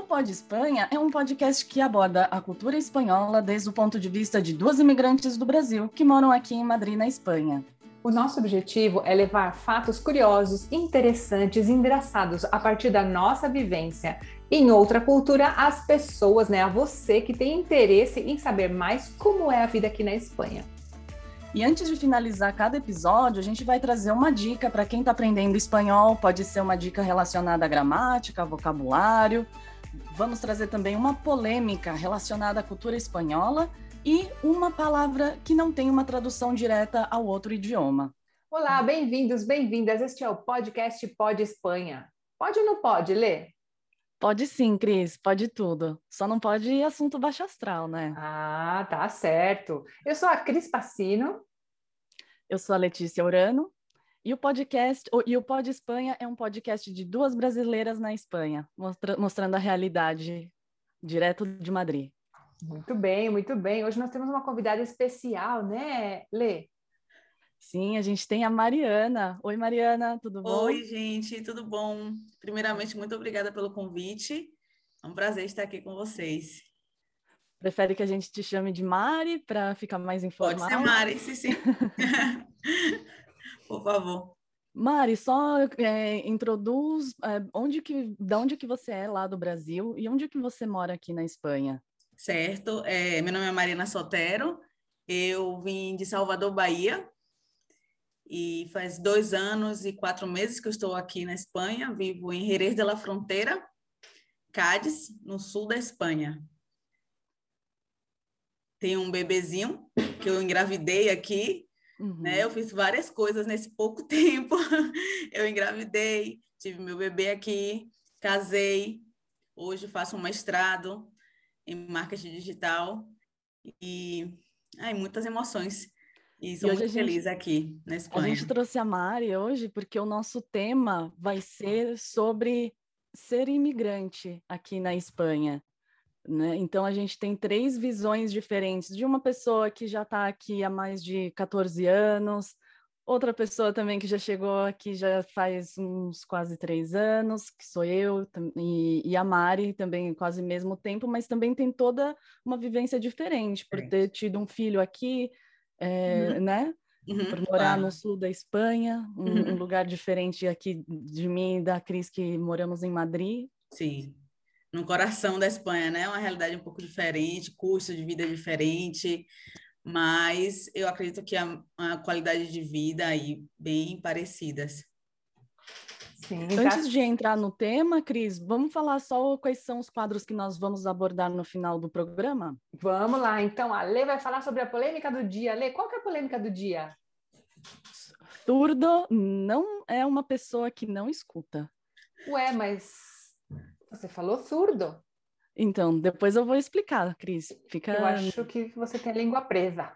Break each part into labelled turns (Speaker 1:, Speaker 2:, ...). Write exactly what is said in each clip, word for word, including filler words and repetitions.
Speaker 1: Pode Espanha é um podcast que aborda a cultura espanhola desde o ponto de vista de duas imigrantes do Brasil que moram aqui em Madrid, na Espanha.
Speaker 2: O nosso objetivo é levar fatos curiosos, interessantes e engraçados a partir da nossa vivência em outra cultura às pessoas, né, a você que tem interesse em saber mais como é a vida aqui na Espanha.
Speaker 1: E antes de finalizar cada episódio, a gente vai trazer uma dica para quem está aprendendo espanhol. Pode ser uma dica relacionada à gramática, ao vocabulário. Vamos trazer também uma polêmica relacionada à cultura espanhola e uma palavra que não tem uma tradução direta ao outro idioma.
Speaker 2: Olá, bem-vindos, bem-vindas. Este é o podcast Pode Espanha. Pode ou não pode, Lê?
Speaker 1: Pode sim, Cris, pode tudo. Só não pode assunto baixo astral, né?
Speaker 2: Ah, tá certo. Eu sou a Cris Passino.
Speaker 1: Eu sou a Letícia Urano. E o podcast, e o Pode Espanha é um podcast de duas brasileiras na Espanha, mostra, mostrando a realidade direto de Madrid.
Speaker 2: Muito bem, muito bem. Hoje nós temos uma convidada especial, né, Lê?
Speaker 1: Sim, a gente tem a Mariana. Oi, Mariana, tudo bom?
Speaker 3: Oi, gente, tudo bom? Primeiramente, muito obrigada pelo convite. É um prazer estar aqui com vocês.
Speaker 1: Prefere que a gente te chame de Mari para ficar mais informal?
Speaker 3: Pode ser Mari, sim, sim. Por favor.
Speaker 1: Mari, só é, introduz é, onde que, de onde que você é lá do Brasil e onde que você mora aqui na Espanha.
Speaker 3: Certo, é, meu nome é Mariana Sotero, eu vim de Salvador, Bahia, e faz dois anos e quatro meses que eu estou aqui na Espanha, vivo em Jerez de la Frontera, Cádiz, no sul da Espanha. Tenho um bebezinho que eu engravidei aqui, uhum. né? Eu fiz várias coisas nesse pouco tempo. Eu engravidei, tive meu bebê aqui, casei, hoje faço um mestrado em marketing digital e ai, muitas emoções. E sou e muito feliz gente, aqui na Espanha.
Speaker 1: A gente trouxe a Mari hoje porque o nosso tema vai ser sobre ser imigrante aqui na Espanha. Né? Então, a gente tem três visões diferentes, de uma pessoa que já está aqui há mais de catorze anos, outra pessoa também que já chegou aqui já faz uns quase três anos, que sou eu, e, e a Mari também quase mesmo tempo, mas também tem toda uma vivência diferente, por ter tido um filho aqui, é, uhum. né? Uhum, por morar claro. no sul da Espanha, um, uhum. um lugar diferente aqui de mim e da Cris, que moramos em Madrid.
Speaker 3: Sim. No coração da Espanha, né? Uma realidade um pouco diferente, custo de vida diferente, mas eu acredito que a, a qualidade de vida aí bem parecidas.
Speaker 1: Sim, Antes tá... de entrar no tema, Cris, vamos falar só quais são os quadros que nós vamos abordar no final do programa?
Speaker 2: Vamos lá, então a Lê vai falar sobre a polêmica do dia. Lê, qual que é a polêmica do dia?
Speaker 1: Surdo não é uma pessoa que não escuta.
Speaker 2: Ué, mas... Você falou surdo.
Speaker 1: Então, depois eu vou explicar, Cris. Fica...
Speaker 2: Eu acho que você tem a língua presa.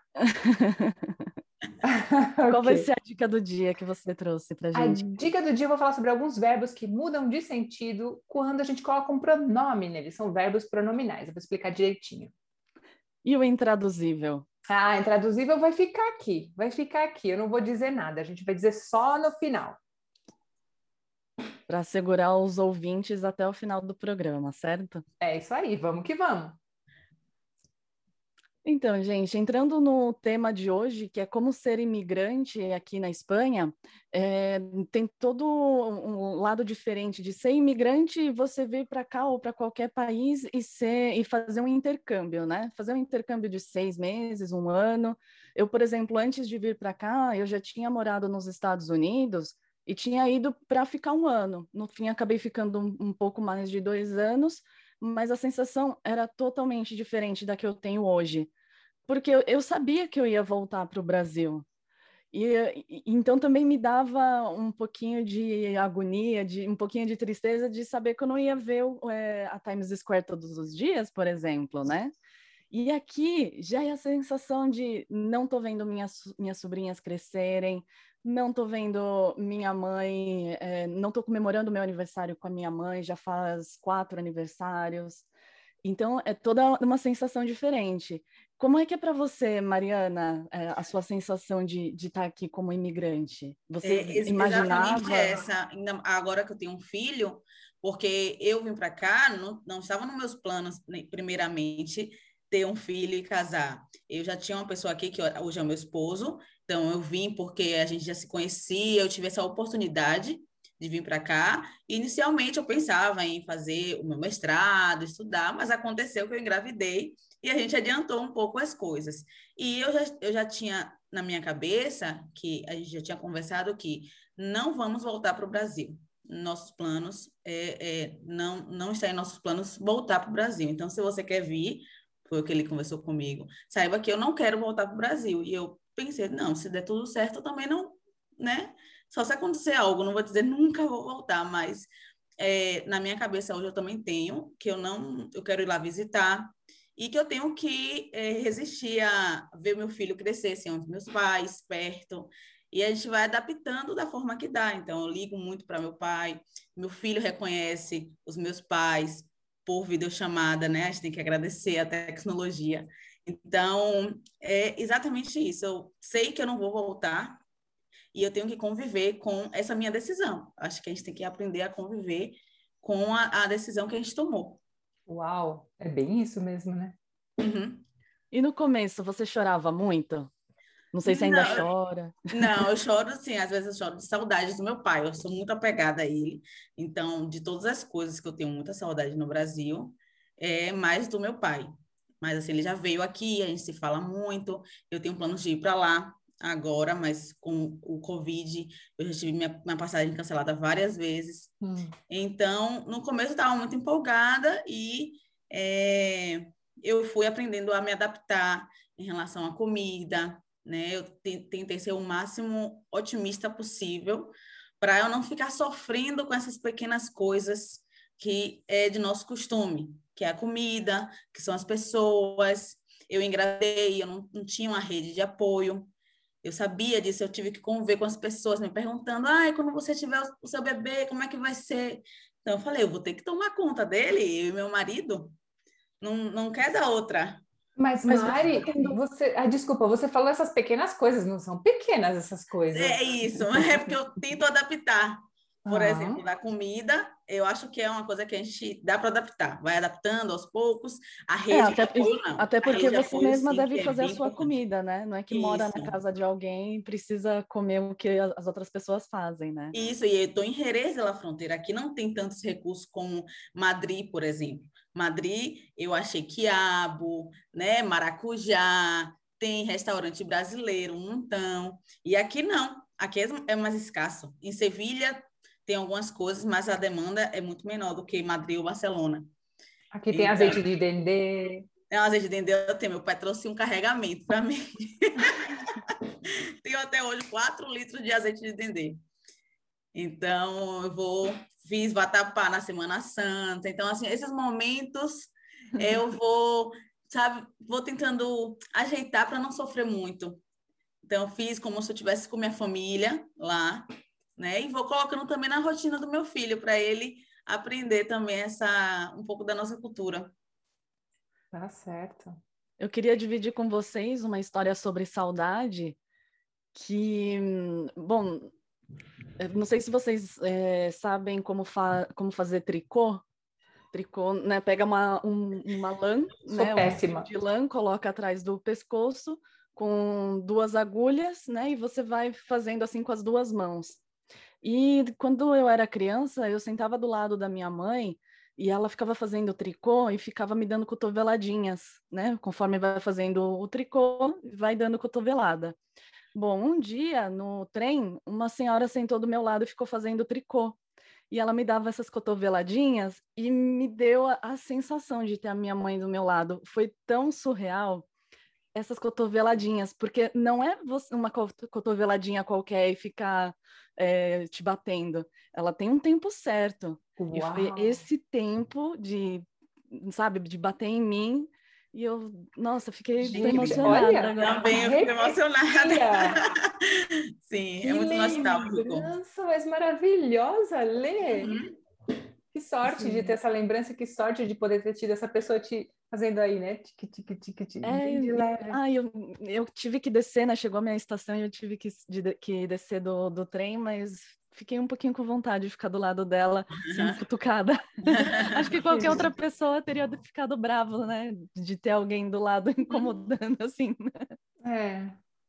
Speaker 1: Qual okay. vai ser a dica do dia que você trouxe pra gente?
Speaker 2: A dica do dia eu vou falar sobre alguns verbos que mudam de sentido quando a gente coloca um pronome neles. São verbos pronominais. Eu vou explicar direitinho.
Speaker 1: E o intraduzível?
Speaker 2: Ah, intraduzível vai ficar aqui. Vai ficar aqui. Eu não vou dizer nada. A gente vai dizer só no final.
Speaker 1: Para assegurar os ouvintes até o final do programa, certo?
Speaker 2: É isso aí, vamos que vamos.
Speaker 1: Então, gente, entrando no tema de hoje, que é como ser imigrante aqui na Espanha, é, tem todo um lado diferente de ser imigrante e você vir para cá ou para qualquer país e, ser, e fazer um intercâmbio, né? Fazer um intercâmbio de seis meses, um ano. Eu, por exemplo, antes de vir para cá, eu já tinha morado nos Estados Unidos e tinha ido para ficar um ano. No fim, acabei ficando um, um pouco mais de dois anos, mas a sensação era totalmente diferente da que eu tenho hoje. Porque eu, eu sabia que eu ia voltar para o Brasil. E, e então também me dava um pouquinho de agonia, de, um pouquinho de tristeza de saber que eu não ia ver é, a Times Square todos os dias, por exemplo, né? E aqui já é a sensação de não tô vendo minhas, minhas sobrinhas crescerem, não tô vendo minha mãe, é, não tô comemorando meu aniversário com a minha mãe, já faz quatro aniversários. Então, é toda uma sensação diferente. Como é que é para você, Mariana, é, a sua sensação de, de estar aqui como imigrante? Você
Speaker 3: é,
Speaker 1: imaginava...
Speaker 3: Exatamente essa. Agora que eu tenho um filho, porque eu vim para cá, não, não estava nos meus planos, primeiramente, ter um filho e casar. Eu já tinha uma pessoa aqui, que hoje é o meu esposo, então eu vim porque a gente já se conhecia, eu tive essa oportunidade de vir para cá. Inicialmente eu pensava em fazer o meu mestrado, estudar, mas aconteceu que eu engravidei e a gente adiantou um pouco as coisas. E eu já, eu já tinha na minha cabeça, que a gente já tinha conversado, que não vamos voltar para o Brasil. Nossos planos, é, é, não, não está em nossos planos voltar para o Brasil. Então, se você quer vir, foi o que ele conversou comigo, saiba que eu não quero voltar para o Brasil. E eu pensei, não, se der tudo certo, eu também não, né? Só se acontecer algo, não vou dizer nunca vou voltar, mas é, na minha cabeça hoje eu também tenho que eu não, eu quero ir lá visitar e que eu tenho que é, resistir a ver meu filho crescer sem os meus pais perto. E a gente vai adaptando da forma que dá. Então, eu ligo muito para meu pai, meu filho reconhece os meus pais por videochamada, né? A gente tem que agradecer a tecnologia. Então, é exatamente isso. Eu sei que eu não vou voltar e eu tenho que conviver com essa minha decisão. Acho que a gente tem que aprender a conviver com a, a decisão que a gente tomou.
Speaker 2: Uau, é bem isso mesmo, né?
Speaker 1: Uhum. E no começo, você chorava muito? Não sei se ainda
Speaker 3: Não,
Speaker 1: chora.
Speaker 3: não, eu choro sim, às vezes eu choro de saudade do meu pai, eu sou muito apegada a ele, então, de todas as coisas que eu tenho muita saudade no Brasil, é mais do meu pai. Mas assim, ele já veio aqui, a gente se fala muito, eu tenho planos de ir para lá agora, mas com o Covid, eu já tive minha, minha passagem cancelada várias vezes.
Speaker 2: Hum.
Speaker 3: Então, no começo eu estava muito empolgada e é, eu fui aprendendo a me adaptar em relação à comida, né? Eu tentei ser o máximo otimista possível para eu não ficar sofrendo com essas pequenas coisas que é de nosso costume, que é a comida, que são as pessoas. Eu engravidei, eu não, não tinha uma rede de apoio. Eu sabia disso, eu tive que conviver com as pessoas me perguntando, ai, quando você tiver o seu bebê, como é que vai ser? Então eu falei, eu vou ter que tomar conta dele, eu e meu marido, não, não quer dar outra.
Speaker 2: Mas,
Speaker 1: Mas
Speaker 2: Mari, você, ah, desculpa, você falou essas pequenas coisas, não são pequenas essas coisas.
Speaker 3: É isso, é porque eu tento adaptar. Por
Speaker 2: Ah.
Speaker 3: exemplo, da comida, eu acho que é uma coisa que a gente dá para adaptar, vai adaptando aos poucos. A
Speaker 1: É,
Speaker 3: rede de
Speaker 1: até,
Speaker 3: apoio, não.
Speaker 1: até
Speaker 3: A
Speaker 1: porque
Speaker 3: rede de
Speaker 1: você
Speaker 3: apoio,
Speaker 1: mesma
Speaker 3: sim,
Speaker 1: deve
Speaker 3: que é
Speaker 1: fazer a
Speaker 3: bem
Speaker 1: sua
Speaker 3: importante.
Speaker 1: comida, né? Não é que mora
Speaker 3: Isso.
Speaker 1: na casa de alguém e precisa comer o que as outras pessoas fazem, né?
Speaker 3: Isso, e eu estou em Jerez de la Fronteira. Aqui não tem tantos recursos como Madrid, por exemplo. Madrid, eu achei quiabo, né, maracujá, tem restaurante brasileiro, um montão. E aqui não, aqui é é mais escasso. Em Sevilha tem algumas coisas, mas a demanda é muito menor do que Madrid ou Barcelona.
Speaker 2: Aqui tem
Speaker 3: Então,
Speaker 2: azeite de dendê.
Speaker 3: é um azeite de dendê, eu tenho. Meu pai trouxe um carregamento para mim. Tenho até hoje quatro litros de azeite de dendê. Então, eu vou, fiz vatapá na Semana Santa. Então, assim, esses momentos eu vou, sabe, vou tentando ajeitar para não sofrer muito. Então, fiz como se eu estivesse com minha família lá, né? E vou colocando também na rotina do meu filho, para ele aprender também essa, um pouco da nossa cultura.
Speaker 2: Tá certo.
Speaker 1: Eu queria dividir com vocês uma história sobre saudade que, bom, eu não sei se vocês é, sabem como, fa como fazer tricô. Tricô, né? Pega uma, um, uma lã,
Speaker 2: Sou
Speaker 1: né? Um fio
Speaker 2: péssima.
Speaker 1: de lã, coloca atrás do pescoço com duas agulhas, né? E você vai fazendo assim com as duas mãos. E quando eu era criança, eu sentava do lado da minha mãe e ela ficava fazendo tricô e ficava me dando cotoveladinhas, né? Conforme vai fazendo o tricô, vai dando cotovelada. Bom, um dia no trem, uma senhora sentou do meu lado e ficou fazendo tricô. E ela me dava essas cotoveladinhas e me deu a, a sensação de ter a minha mãe do meu lado. Foi tão surreal essas cotoveladinhas, porque não é você uma cotoveladinha qualquer e ficar é, te batendo. Ela tem um tempo certo. E foi
Speaker 2: Uau!
Speaker 1: esse tempo de, sabe, de bater em mim. E eu, nossa, fiquei tô
Speaker 2: Gente,
Speaker 1: emocionada
Speaker 2: olha,
Speaker 1: agora.
Speaker 3: Também eu fico emocionada.
Speaker 2: arrepia!
Speaker 3: Sim, é
Speaker 2: Que
Speaker 3: muito nostálgico.
Speaker 2: lembrança mais maravilhosa, Lê!
Speaker 3: Uhum.
Speaker 2: Que sorte de ter
Speaker 1: Sim.
Speaker 2: essa lembrança, que sorte de poder ter tido essa pessoa te fazendo aí, né? Tique, tique, tique, tique,
Speaker 1: É,
Speaker 2: bem de
Speaker 1: e-
Speaker 2: leve.
Speaker 1: ah, eu, eu tive que descer, né? Chegou a minha estação e eu tive que, de- que descer do, do trem, mas fiquei um pouquinho com vontade de ficar do lado dela, sendo cutucada. Acho que qualquer outra pessoa teria ficado bravo, né? De ter alguém do lado incomodando, assim.
Speaker 2: É.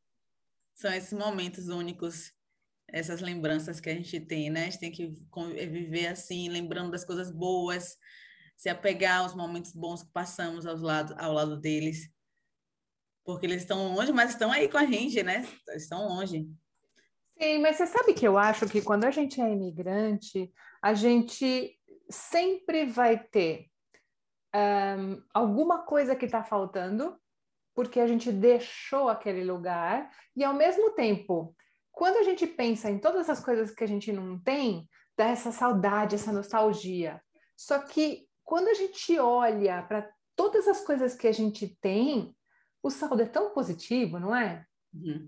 Speaker 3: São esses momentos únicos, essas lembranças que a gente tem, né? A gente tem que viver assim, lembrando das coisas boas, se apegar aos momentos bons que passamos ao lado, ao lado deles. Porque eles estão longe, mas estão aí com a gente, né? Estão longe.
Speaker 2: Sim, mas você sabe que eu acho que quando a gente é imigrante, a gente sempre vai ter um, alguma coisa que está faltando, porque a gente deixou aquele lugar, e ao mesmo tempo, quando a gente pensa em todas as coisas que a gente não tem, dá essa saudade, essa nostalgia. Só que quando a gente olha para todas as coisas que a gente tem, o saldo é tão positivo, não é?
Speaker 3: Uhum.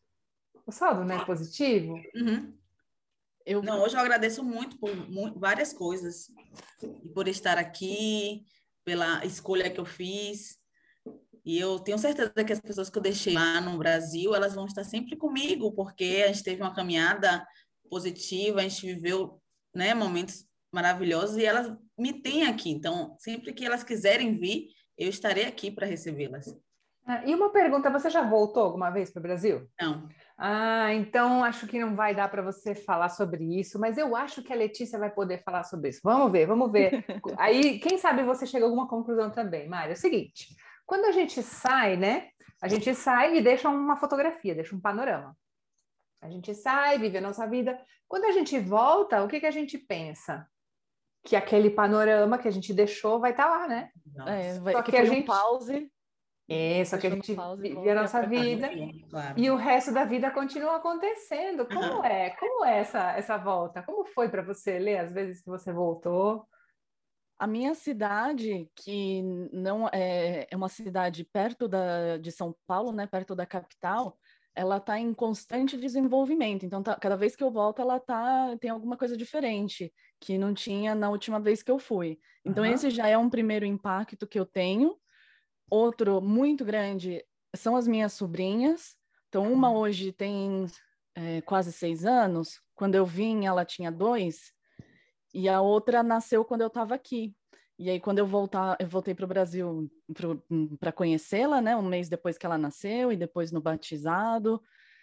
Speaker 2: O saldo não é positivo?
Speaker 3: Uhum. Eu... Não, hoje eu agradeço muito por muito, várias coisas. E por estar aqui, pela escolha que eu fiz. E eu tenho certeza que as pessoas que eu deixei lá no Brasil, elas vão estar sempre comigo, porque a gente teve uma caminhada positiva, a gente viveu, né, momentos maravilhosos e elas me têm aqui. Então, sempre que elas quiserem vir, eu estarei aqui para recebê-las.
Speaker 2: Ah, e uma pergunta, você já voltou alguma vez para o Brasil?
Speaker 3: Não.
Speaker 2: Ah, então acho que não vai dar para você falar sobre isso, mas eu acho que a Letícia vai poder falar sobre isso. Vamos ver, vamos ver. Aí, quem sabe você chega a alguma conclusão também, Mário. É o seguinte, quando a gente sai, né? A gente sai e deixa uma fotografia, deixa um panorama. A gente sai, vive a nossa vida. Quando a gente volta, o que que a gente pensa? Que aquele panorama que a gente deixou vai estar lá, né?
Speaker 1: É, vai,
Speaker 2: Só
Speaker 1: que
Speaker 2: que a
Speaker 1: foi um
Speaker 2: gente...
Speaker 1: pause.
Speaker 2: É, só que a
Speaker 1: Deixou no
Speaker 2: gente
Speaker 1: pause,
Speaker 2: vive a nossa
Speaker 1: pra cá.
Speaker 2: vida
Speaker 3: Claro.
Speaker 2: e o resto da vida continua acontecendo. Como
Speaker 3: Uhum.
Speaker 2: é? Como é essa, essa volta? Como foi para você, Lê, as vezes que você voltou?
Speaker 1: A minha cidade, que não é, é uma cidade perto da, de São Paulo, né, perto da capital, ela está em constante desenvolvimento. Então, tá, cada vez que eu volto, ela tá, tem alguma coisa diferente que não tinha na última vez que eu fui. Então,
Speaker 2: Uhum.
Speaker 1: esse já é um primeiro impacto que eu tenho. Outro muito grande são as minhas sobrinhas. Então, uma hoje tem é, quase seis anos. Quando eu vim, ela tinha dois. E a outra nasceu quando eu estava aqui. E aí, quando eu voltar, eu voltei para o Brasil para conhecê-la, né? Um mês depois que ela nasceu e depois no batizado.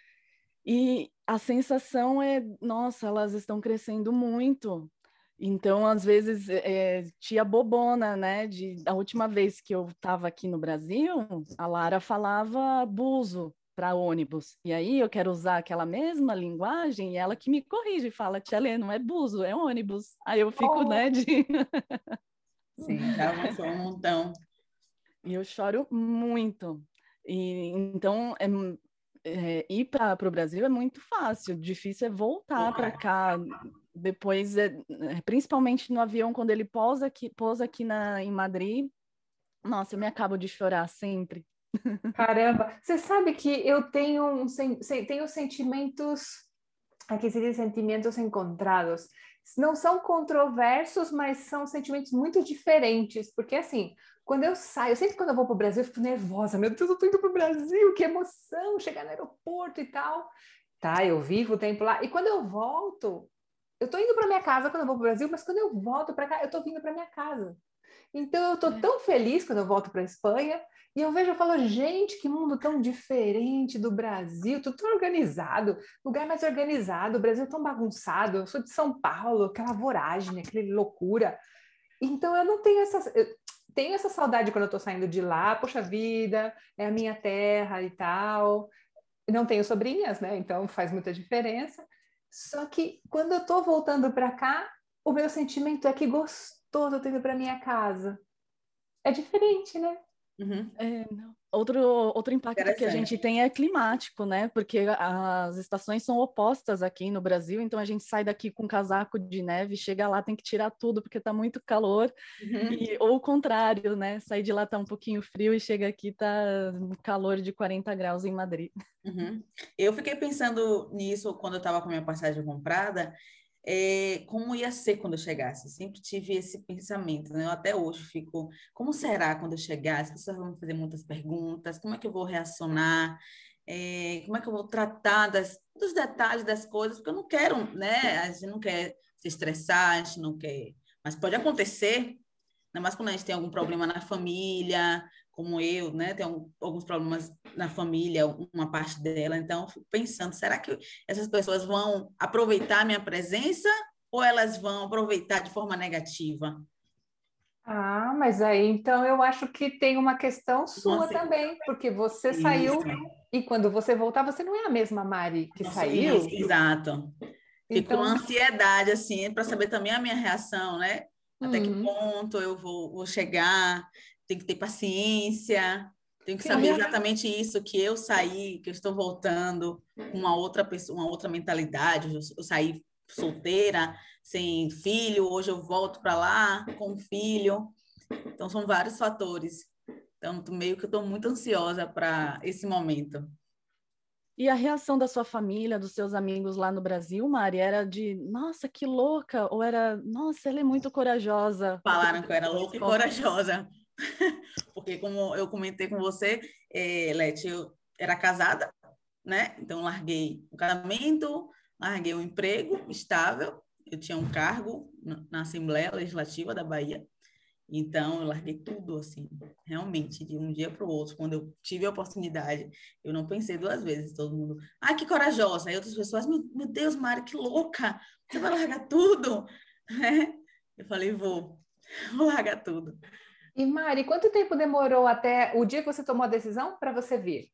Speaker 1: E a sensação é, nossa, elas estão crescendo muito. Então, às vezes, é, tia bobona, né? De, a última vez que eu estava aqui no Brasil, a Lara falava buzo para ônibus. E aí eu quero usar aquela mesma linguagem e ela que me corrige, fala, tia Lê, não é buzo, é ônibus. Aí eu fico,
Speaker 2: Oh.
Speaker 1: né, de...
Speaker 3: Sim, já avançou um montão.
Speaker 1: E eu choro muito. E, então, é, é, ir para o Brasil é muito fácil, difícil é voltar para cá. Depois, é, principalmente no avião, quando ele pousa aqui, pousa aqui na, em Madrid, nossa, eu me acabo de chorar sempre.
Speaker 2: Caramba, você sabe que eu tenho, um, sen- tenho sentimentos, aqui se diz sentimentos encontrados. Não são controversos, mas são sentimentos muito diferentes, porque assim, quando eu saio, sempre quando eu vou para o Brasil, eu fico nervosa, meu Deus, eu tô indo para o Brasil, que emoção, chegar no aeroporto e tal. Tá, eu vivo o tempo lá, e quando eu volto, eu tô indo para minha casa quando eu vou para o Brasil, mas quando eu volto para cá, eu tô vindo para minha casa. Então eu tô
Speaker 1: É.
Speaker 2: tão feliz quando eu volto para a Espanha e eu vejo, eu falo, gente, que mundo tão diferente do Brasil, tudo tão organizado, lugar mais organizado, o Brasil tão bagunçado, eu sou de São Paulo, aquela voragem, aquela loucura. Então eu não tenho essa, eu tenho essa saudade quando eu tô saindo de lá, poxa vida, é a minha terra e tal. Não tenho sobrinhas, né? Então faz muita diferença. Só que quando eu tô voltando para cá, o meu sentimento é que gostoso eu tô indo para minha casa. É diferente, né?
Speaker 3: Uhum.
Speaker 1: É, não. Outro, outro impacto que a gente
Speaker 3: Interessante.
Speaker 1: tem é climático, né? Porque as estações são opostas aqui no Brasil, então a gente sai daqui com casaco de neve, chega lá, tem que tirar tudo porque tá muito calor,
Speaker 3: Uhum.
Speaker 1: e, ou o contrário, né? Sair de lá tá um pouquinho frio e chega aqui tá calor de quarenta graus em Madrid.
Speaker 3: Uhum. Eu fiquei pensando nisso quando eu estava com a minha passagem comprada, é, como ia ser quando eu chegasse. Eu sempre tive esse pensamento, né? Eu até hoje fico, como será quando eu chegar? As pessoas vão me fazer muitas perguntas, como é que eu vou reacionar? é, como é que eu vou tratar das, dos detalhes das coisas, porque eu não quero, né? A gente não quer se estressar, a gente não quer. Mas pode acontecer, ainda mais quando a gente tem algum problema na família, como eu, né? Tenho alguns problemas na família, uma parte dela. Então, eu fico pensando, será que essas pessoas vão aproveitar a minha presença ou elas vão aproveitar de forma negativa?
Speaker 2: Ah, mas aí então eu acho que tem uma questão
Speaker 3: Então,
Speaker 2: sua
Speaker 3: assim,
Speaker 2: também, porque você
Speaker 3: isso.
Speaker 2: saiu e quando você voltar, você não é a mesma Mari que
Speaker 3: Nossa, isso,
Speaker 2: saiu.
Speaker 3: exato. Fico numa
Speaker 2: Então,
Speaker 3: ansiedade, assim, para saber também a minha reação, né? Até que
Speaker 2: hum,
Speaker 3: ponto eu vou, vou chegar, tenho que ter paciência, tenho que saber
Speaker 2: sim.
Speaker 3: exatamente isso, que eu saí, que eu estou voltando com uma outra pessoa, uma outra mentalidade, eu, eu saí solteira, sem filho, hoje eu volto para lá com filho. Então, são vários fatores. Então, meio que eu estou muito ansiosa para esse momento.
Speaker 1: E a reação da sua família, dos seus amigos lá no Brasil, Mari, era de, nossa, que louca, ou era, nossa, ela é muito corajosa.
Speaker 3: Falaram que eu era louca e corajosa. Porque, como eu comentei com você, é, Leti, eu era casada, né? Então, larguei o casamento, larguei o emprego estável, eu tinha um cargo na Assembleia Legislativa da Bahia, então eu larguei tudo, assim, realmente, de um dia para o outro. Quando eu tive a oportunidade, eu não pensei duas vezes, todo mundo, ai, que corajosa. Aí outras pessoas, meu, meu Deus, Mari, que louca, você vai largar tudo, né? Eu falei, vou, vou largar tudo.
Speaker 2: E Mari, quanto tempo demorou até o dia que você tomou a decisão para você vir?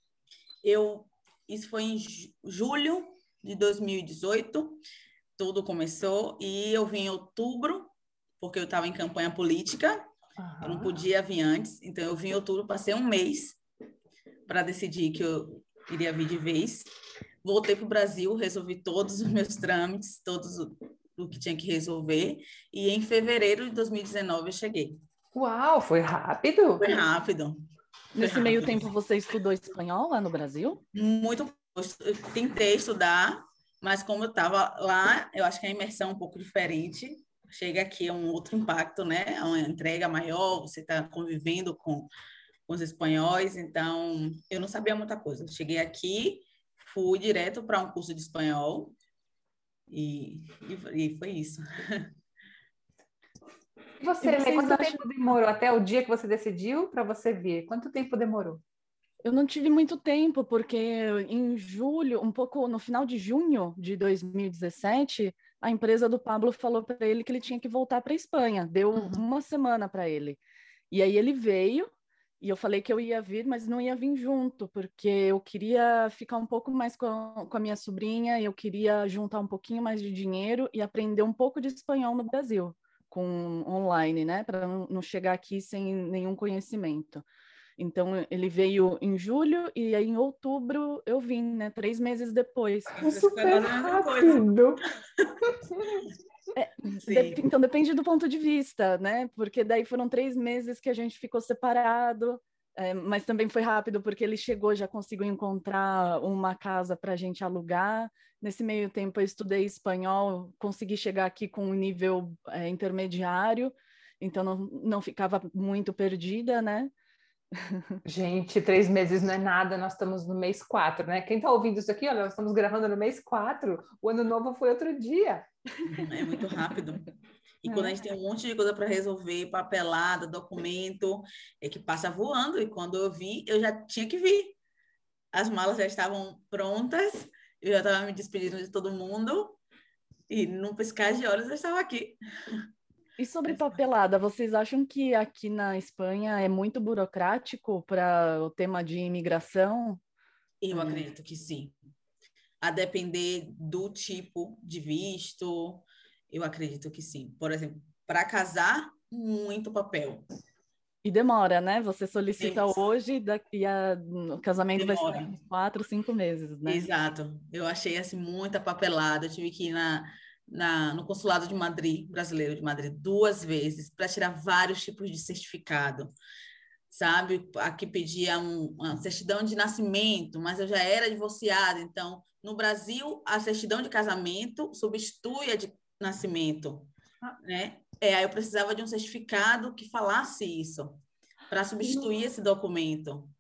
Speaker 3: Eu, isso foi em julho de dois mil e dezoito, tudo começou, e eu vim em outubro, porque eu estava em campanha política, eu não
Speaker 2: Aham.
Speaker 3: podia vir antes, então eu vim em outubro, passei um mês para decidir que eu iria vir de vez. Voltei para o Brasil, resolvi todos os meus trâmites, todos o, o que tinha que resolver, e em fevereiro de dois mil e dezenove eu cheguei.
Speaker 2: Uau, foi rápido.
Speaker 3: Foi rápido, foi
Speaker 1: Nesse meio
Speaker 3: rápido.
Speaker 1: tempo, você estudou espanhol lá no Brasil?
Speaker 3: Muito. Eu tentei estudar, mas como eu estava lá, eu acho que a imersão é um pouco diferente. Chega aqui é um outro impacto, né? É uma entrega maior, você está convivendo com, com os espanhóis, então eu não sabia muita coisa. Cheguei aqui, fui direto para um curso de espanhol e, e, e foi isso.
Speaker 2: E
Speaker 1: E
Speaker 2: você, Lê,
Speaker 1: vocês
Speaker 2: quanto
Speaker 1: acham?
Speaker 2: tempo demorou até o dia que você decidiu para você vir? Quanto tempo demorou?
Speaker 1: Eu não tive muito tempo, porque em julho, um pouco no final de junho de dois mil e dezessete, a empresa do Pablo falou para ele que ele tinha que voltar para a Espanha. Deu
Speaker 2: Uhum.
Speaker 1: uma semana para ele. E aí ele veio, e eu falei que eu ia vir, mas não ia vir junto, porque eu queria ficar um pouco mais com a, com a minha sobrinha, eu queria juntar um pouquinho mais de dinheiro e aprender um pouco de espanhol no Brasil, com online, né? Para não, não chegar aqui sem nenhum conhecimento. Então, ele veio em julho e aí em outubro eu vim, né? Três meses depois.
Speaker 2: Foi
Speaker 3: Foi
Speaker 2: super
Speaker 3: quase a mesma coisa.
Speaker 2: rápido.
Speaker 1: É,
Speaker 3: Sim.
Speaker 1: de- então, depende do ponto de vista, né? Porque daí foram três meses que a gente ficou separado, é, mas também foi rápido, porque ele chegou, já conseguiu encontrar uma casa para a gente alugar. Nesse meio tempo, eu estudei espanhol, consegui chegar aqui com um nível, é, intermediário, então não, não ficava muito perdida, né?
Speaker 2: Gente, três meses não é nada, nós estamos no mês quatro, né? Quem está ouvindo isso aqui, olha, nós estamos gravando no mês quatro, o ano novo foi outro dia.
Speaker 3: É muito rápido. E quando a
Speaker 2: Né?
Speaker 3: gente tem um monte de coisa para resolver, papelada, documento, é que passa voando. E quando eu vi, eu já tinha que vir. As malas já estavam prontas, eu já estava me despedindo de todo mundo, e num piscar de olhos eu estava aqui.
Speaker 1: E sobre papelada, vocês acham que aqui na Espanha é muito burocrático para o tema de imigração?
Speaker 3: Eu
Speaker 1: É.
Speaker 3: acredito que sim. A depender do tipo de visto, eu acredito que sim. Por exemplo, para casar, muito papel.
Speaker 1: E demora, né? Você solicita
Speaker 3: Tem-
Speaker 1: hoje daqui a... o casamento vai ser
Speaker 3: Demora.
Speaker 1: daqui uns quatro, cinco meses, né?
Speaker 3: Exato. Eu achei assim muita papelada. Eu tive que ir na, na, no consulado de Madrid, brasileiro de Madrid, duas vezes para tirar vários tipos de certificado. Sabe? Aqui pedia um, uma certidão de nascimento, mas eu já era divorciada. Então, no Brasil, a certidão de casamento substitui a de nascimento,
Speaker 2: Ah,
Speaker 3: né? É, aí eu precisava de um certificado que falasse isso, para substituir esse documento.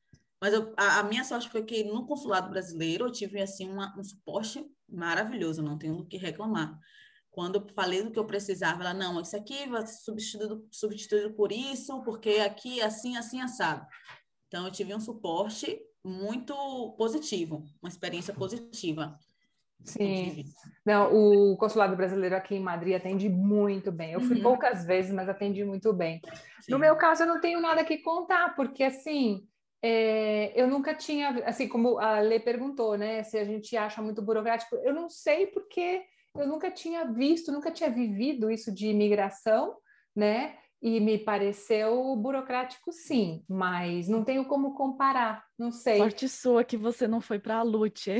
Speaker 3: Mas eu, a, a minha sorte foi que no consulado brasileiro eu tive, assim, uma, um suporte maravilhoso, não tenho do que reclamar. Quando eu falei do que eu precisava, ela, não, isso aqui vai ser substituído, substituído por isso, porque aqui é assim, assim, assado. Então, eu tive um suporte muito positivo, uma experiência positiva.
Speaker 2: Sim. Não, o consulado brasileiro aqui em Madrid atende muito bem. Eu fui
Speaker 3: Uhum.
Speaker 2: poucas vezes, mas atendi muito bem.
Speaker 3: Sim.
Speaker 2: No meu caso, eu não tenho nada que contar, porque assim, é, eu nunca tinha, assim como a Lê perguntou, né, se a gente acha muito burocrático, eu não sei porque eu nunca tinha visto, nunca tinha vivido isso de imigração, né? E me pareceu burocrático, sim, mas não tenho como comparar, não sei.
Speaker 1: Sorte sua que você não foi para a Lute.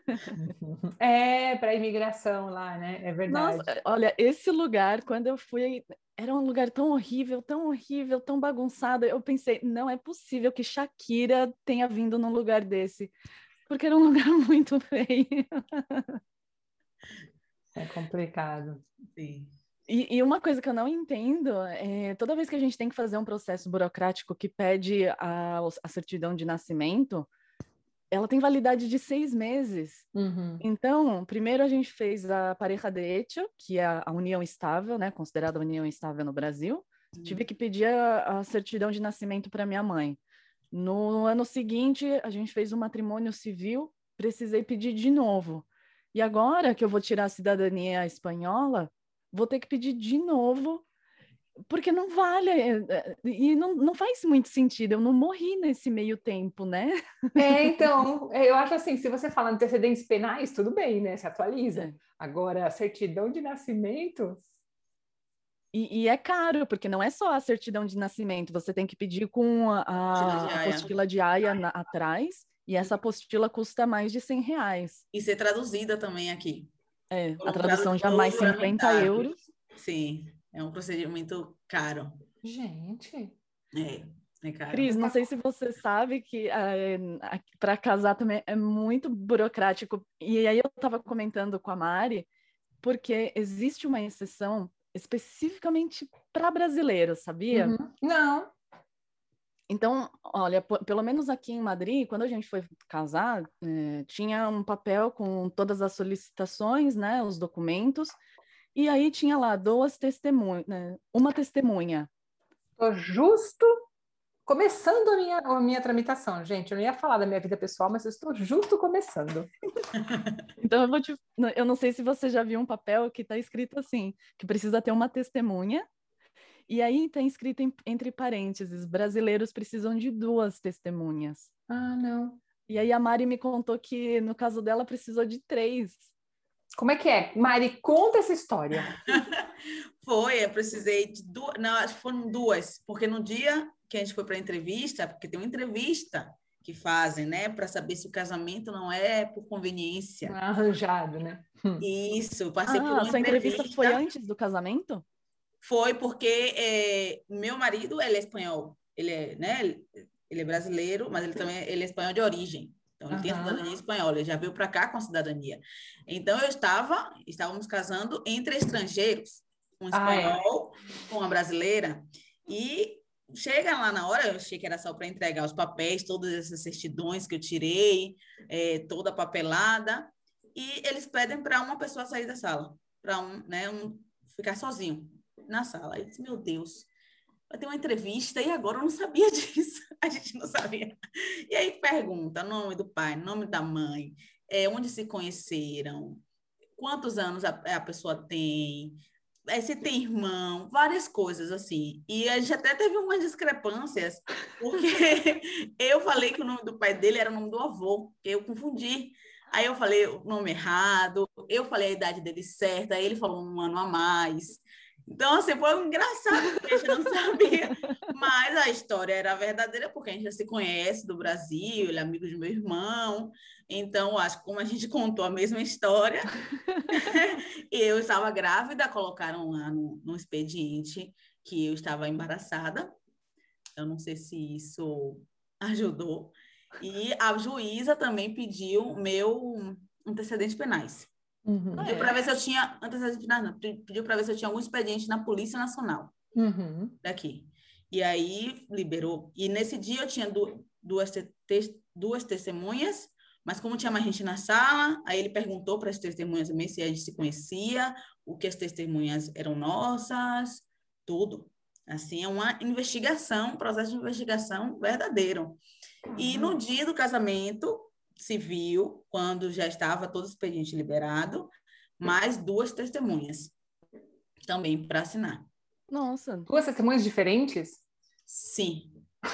Speaker 2: É, para imigração lá, né? É verdade.
Speaker 1: Nossa, olha, esse lugar, quando eu fui, era um lugar tão horrível, tão horrível, tão bagunçado. Eu pensei, não é possível que Shakira tenha vindo num lugar desse, porque era um lugar muito feio.
Speaker 2: É complicado.
Speaker 3: Sim.
Speaker 1: E, e uma coisa que eu não entendo é toda vez que a gente tem que fazer um processo burocrático que pede a, a certidão de nascimento, ela tem validade de seis meses.
Speaker 2: Uhum.
Speaker 1: Então, primeiro a gente fez a pareja de hecho, que é a união estável, né, considerada a união estável no Brasil. Uhum. Tive que pedir a, a certidão de nascimento para minha mãe. No ano seguinte, a gente fez o matrimônio civil, precisei pedir de novo. E agora que eu vou tirar a cidadania espanhola, vou ter que pedir de novo, porque não vale, e não, não faz muito sentido, eu não morri nesse meio tempo, né?
Speaker 2: É, então, eu acho assim, se você fala antecedentes penais, tudo bem, né? Se atualiza.
Speaker 1: É.
Speaker 2: Agora, a certidão de nascimento...
Speaker 1: E, e é caro, porque não é só a certidão de nascimento, você tem que pedir com a, a apostila de Haia na, atrás, e essa apostila custa mais de cem reais.
Speaker 3: E ser traduzida também aqui.
Speaker 1: É,
Speaker 3: Por
Speaker 1: a
Speaker 3: um
Speaker 1: tradução já mais cinquenta euros.
Speaker 3: Sim, é um procedimento caro.
Speaker 2: Gente...
Speaker 3: É, é caro.
Speaker 1: Cris, não sei se você sabe que é, para casar também é muito burocrático. E aí eu estava comentando com a Mari, porque existe uma exceção especificamente para brasileiros, sabia?
Speaker 2: Uhum. Não.
Speaker 1: Então, olha, pelo menos aqui em Madrid, quando a gente foi casar, é, tinha um papel com todas as solicitações, né, os documentos, e aí tinha lá duas testemunhas, né, uma testemunha.
Speaker 2: Tô justo começando a minha, a minha tramitação, gente. Eu não ia falar da minha vida pessoal, mas eu estou justo começando.
Speaker 1: Então, eu vou te... eu não sei se você já viu um papel que está escrito assim, que precisa ter uma testemunha, e aí está escrito em, entre parênteses, brasileiros precisam de duas testemunhas.
Speaker 2: Ah, não.
Speaker 1: E aí a Mari me contou que, no caso dela, precisou de três.
Speaker 2: Como é que é? Mari, conta essa história.
Speaker 3: Foi, eu precisei de duas, não, acho que foram duas, porque no dia que a gente foi para a entrevista, porque tem uma entrevista que fazem, né, para saber se o casamento não é por conveniência.
Speaker 2: Não é arranjado, né?
Speaker 3: Isso, passei
Speaker 1: ah,
Speaker 3: por uma
Speaker 1: sua
Speaker 3: entrevista.
Speaker 1: entrevista foi antes do casamento?
Speaker 3: Foi porque é, meu marido, ele é espanhol, ele é, né, ele é brasileiro, mas ele também ele é espanhol de origem. Então, ele uhum. tem a cidadania espanhola, ele já veio para cá com a cidadania. Então, eu estava, estávamos casando entre estrangeiros, um espanhol ah, é. com uma brasileira, e chega lá na hora, eu achei que era só para entregar os papéis, todas essas certidões que eu tirei, é, toda a papelada, e eles pedem para uma pessoa sair da sala, para um, né, um, ficar sozinho na sala. Eu disse, meu Deus, vai ter uma entrevista, e agora eu não sabia disso, a gente não sabia. E aí pergunta nome do pai, nome da mãe, é, onde se conheceram, quantos anos a, a pessoa tem, é, se tem irmão, várias coisas assim. E a gente até teve umas discrepâncias, porque eu falei que o nome do pai dele era o nome do avô, eu confundi. Aí eu falei o nome errado, eu falei a idade dele certa, aí ele falou um ano a mais. Então, assim, foi engraçado, porque a gente não sabia. Mas a história era verdadeira, porque a gente já se conhece do Brasil, ele é amigo de meu irmão. Então, acho que como a gente contou a mesma história, eu estava grávida, colocaram lá no, no expediente que eu estava embaraçada. Eu não sei se isso ajudou. E a juíza também pediu meu antecedentes penais. Uhum. Pediu para ver se eu tinha antecedentes penais, não. Pediu para ver se eu tinha algum expediente na Polícia Nacional uhum. daqui. E aí liberou. E nesse dia eu tinha du duas, te te duas testemunhas, mas como tinha mais gente na sala, aí ele perguntou para as testemunhas também se a gente se conhecia, o que as testemunhas eram nossas, tudo. Assim, é uma investigação, um processo de investigação verdadeiro. E no dia do casamento civil, quando já estava todo o expediente liberado, mais duas testemunhas também para assinar.
Speaker 1: Nossa.
Speaker 2: Duas testemunhas diferentes?
Speaker 3: Sim.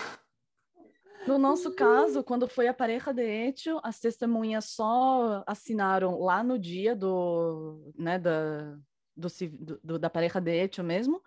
Speaker 1: No nosso caso, quando foi a pareja de hecho, as testemunhas só assinaram lá no dia do, né, da, do, do, da pareja de hecho mesmo.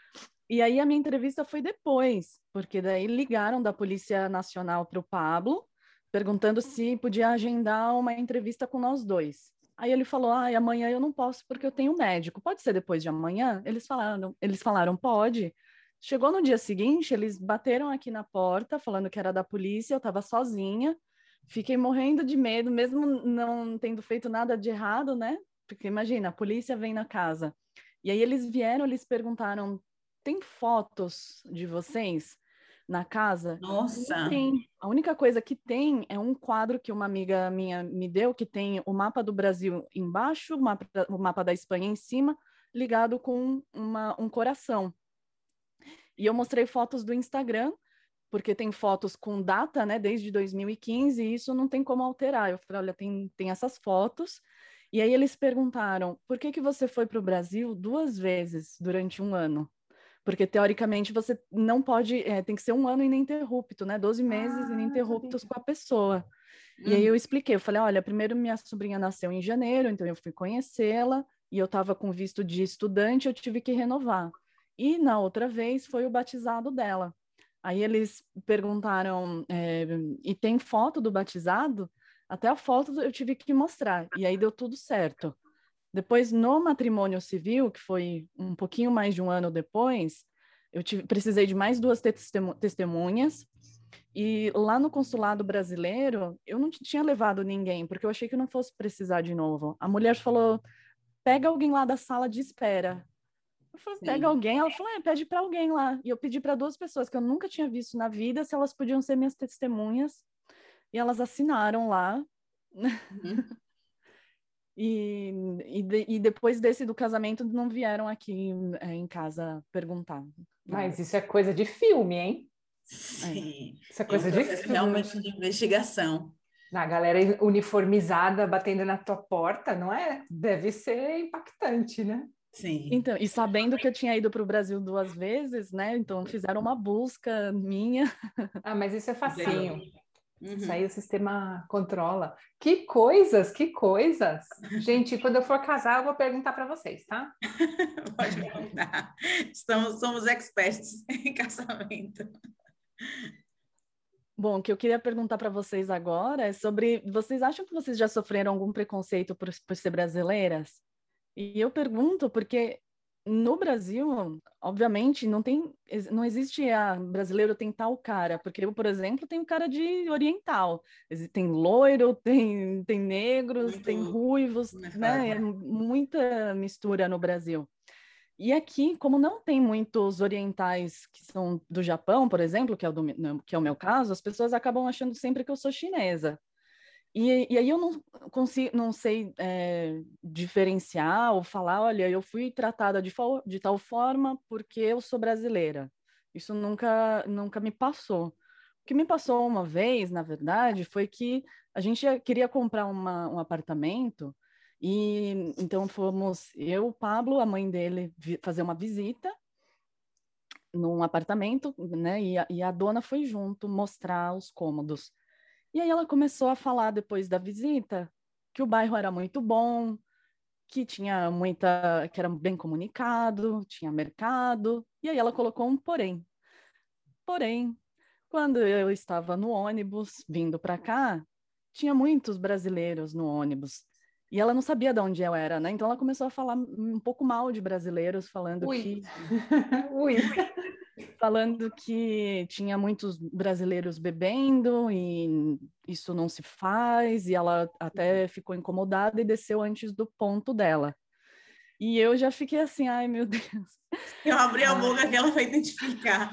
Speaker 1: E aí a minha entrevista foi depois, porque daí ligaram da Polícia Nacional para o Pablo, perguntando se podia agendar uma entrevista com nós dois. Aí ele falou, ah, amanhã eu não posso porque eu tenho médico. Pode ser depois de amanhã? Eles falaram, eles falaram, pode. Chegou no dia seguinte, eles bateram aqui na porta, falando que era da polícia, eu estava sozinha, fiquei morrendo de medo, mesmo não tendo feito nada de errado, né? Porque imagina, a polícia vem na casa. E aí eles vieram, eles perguntaram, tem fotos de vocês na casa?
Speaker 3: Nossa!
Speaker 1: Não tem. A única coisa que tem é um quadro que uma amiga minha me deu, que tem o mapa do Brasil embaixo, o mapa, o mapa da Espanha em cima, ligado com uma, um coração. E eu mostrei fotos do Instagram, porque tem fotos com data, né, desde dois mil e quinze, e isso não tem como alterar. Eu falei, olha, tem, tem essas fotos. E aí eles perguntaram, por que que você foi para o Brasil duas vezes durante um ano? Porque, teoricamente, você não pode, é, tem que ser um ano ininterrupto, né, doze meses
Speaker 2: Ah,
Speaker 1: ininterruptos com a pessoa. E aí
Speaker 3: Uhum.
Speaker 1: eu expliquei, eu falei, olha, primeiro minha sobrinha nasceu em janeiro, então eu fui conhecê-la, e eu estava com visto de estudante, eu tive que renovar. E na outra vez foi o batizado dela. Aí eles perguntaram, é, e tem foto do batizado? Até a foto eu tive que mostrar, e aí deu tudo certo. Depois, no matrimônio civil, que foi um pouquinho mais de um ano depois, eu tive, precisei de mais duas testemu testemunhas, e lá no consulado brasileiro, eu não tinha levado ninguém, porque eu achei que eu não fosse precisar de novo. A mulher falou, pega alguém lá da sala de espera. Eu falei, pega
Speaker 3: Sim.
Speaker 1: alguém? Ela falou, é, pede para alguém lá. E eu pedi para duas pessoas que eu nunca tinha visto na vida se elas podiam ser minhas testemunhas. E elas assinaram lá.
Speaker 3: Uhum.
Speaker 1: E, e, de, e depois desse do casamento não vieram aqui é, em casa perguntar.
Speaker 2: Mas
Speaker 1: Nada.
Speaker 2: isso é coisa de filme, hein?
Speaker 3: Sim.
Speaker 2: Isso é
Speaker 3: É um
Speaker 2: coisa de
Speaker 3: processo
Speaker 2: filme.
Speaker 3: realmente de investigação.
Speaker 2: A galera uniformizada batendo na tua porta, não é? Deve ser impactante, né?
Speaker 3: Sim.
Speaker 1: Então, e sabendo que eu tinha ido para o Brasil duas vezes, né? Então fizeram uma busca minha.
Speaker 2: Ah, mas isso é facinho.
Speaker 3: Uhum.
Speaker 2: Isso aí o sistema controla. Que coisas, que coisas. Gente, quando eu for casar, eu vou perguntar para vocês, tá?
Speaker 3: Pode perguntar. Estamos, somos experts em casamento.
Speaker 1: Bom, o que eu queria perguntar para vocês agora é sobre, vocês acham que vocês já sofreram algum preconceito por, por ser brasileiras? E eu pergunto porque no Brasil, obviamente, não tem, não existe a brasileiro tem tal cara, porque eu, por exemplo, tenho cara de oriental. Tem loiro, tem, tem negros,
Speaker 3: Muito,
Speaker 1: tem ruivos,
Speaker 3: como é que fala?
Speaker 1: né? É muita mistura no Brasil. E aqui, como não tem muitos orientais que são do Japão, por exemplo, que é o, do, que é o meu caso, as pessoas acabam achando sempre que eu sou chinesa. E, e aí eu não consigo, não sei é, diferenciar ou falar, olha, eu fui tratada de, de tal forma porque eu sou brasileira. Isso nunca, nunca me passou. O que me passou uma vez, na verdade, foi que a gente queria comprar uma, um apartamento e então fomos eu, o Pablo, a mãe dele, fazer uma visita num apartamento, né? E a, e a dona foi junto mostrar os cômodos. E aí ela começou a falar depois da visita que o bairro era muito bom, que tinha muita, que era bem comunicado, tinha mercado. E aí ela colocou um porém. Porém, quando eu estava no ônibus vindo para cá, tinha muitos brasileiros no ônibus. E ela não sabia de onde eu era, né? Então ela começou a falar um pouco mal de brasileiros, falando
Speaker 2: Ui.
Speaker 1: que
Speaker 2: Ui.
Speaker 1: falando que tinha muitos brasileiros bebendo e isso não se faz, e ela até ficou incomodada e desceu antes do ponto dela. E eu já fiquei assim, ai meu Deus.
Speaker 3: Eu abri a boca que ela foi identificar.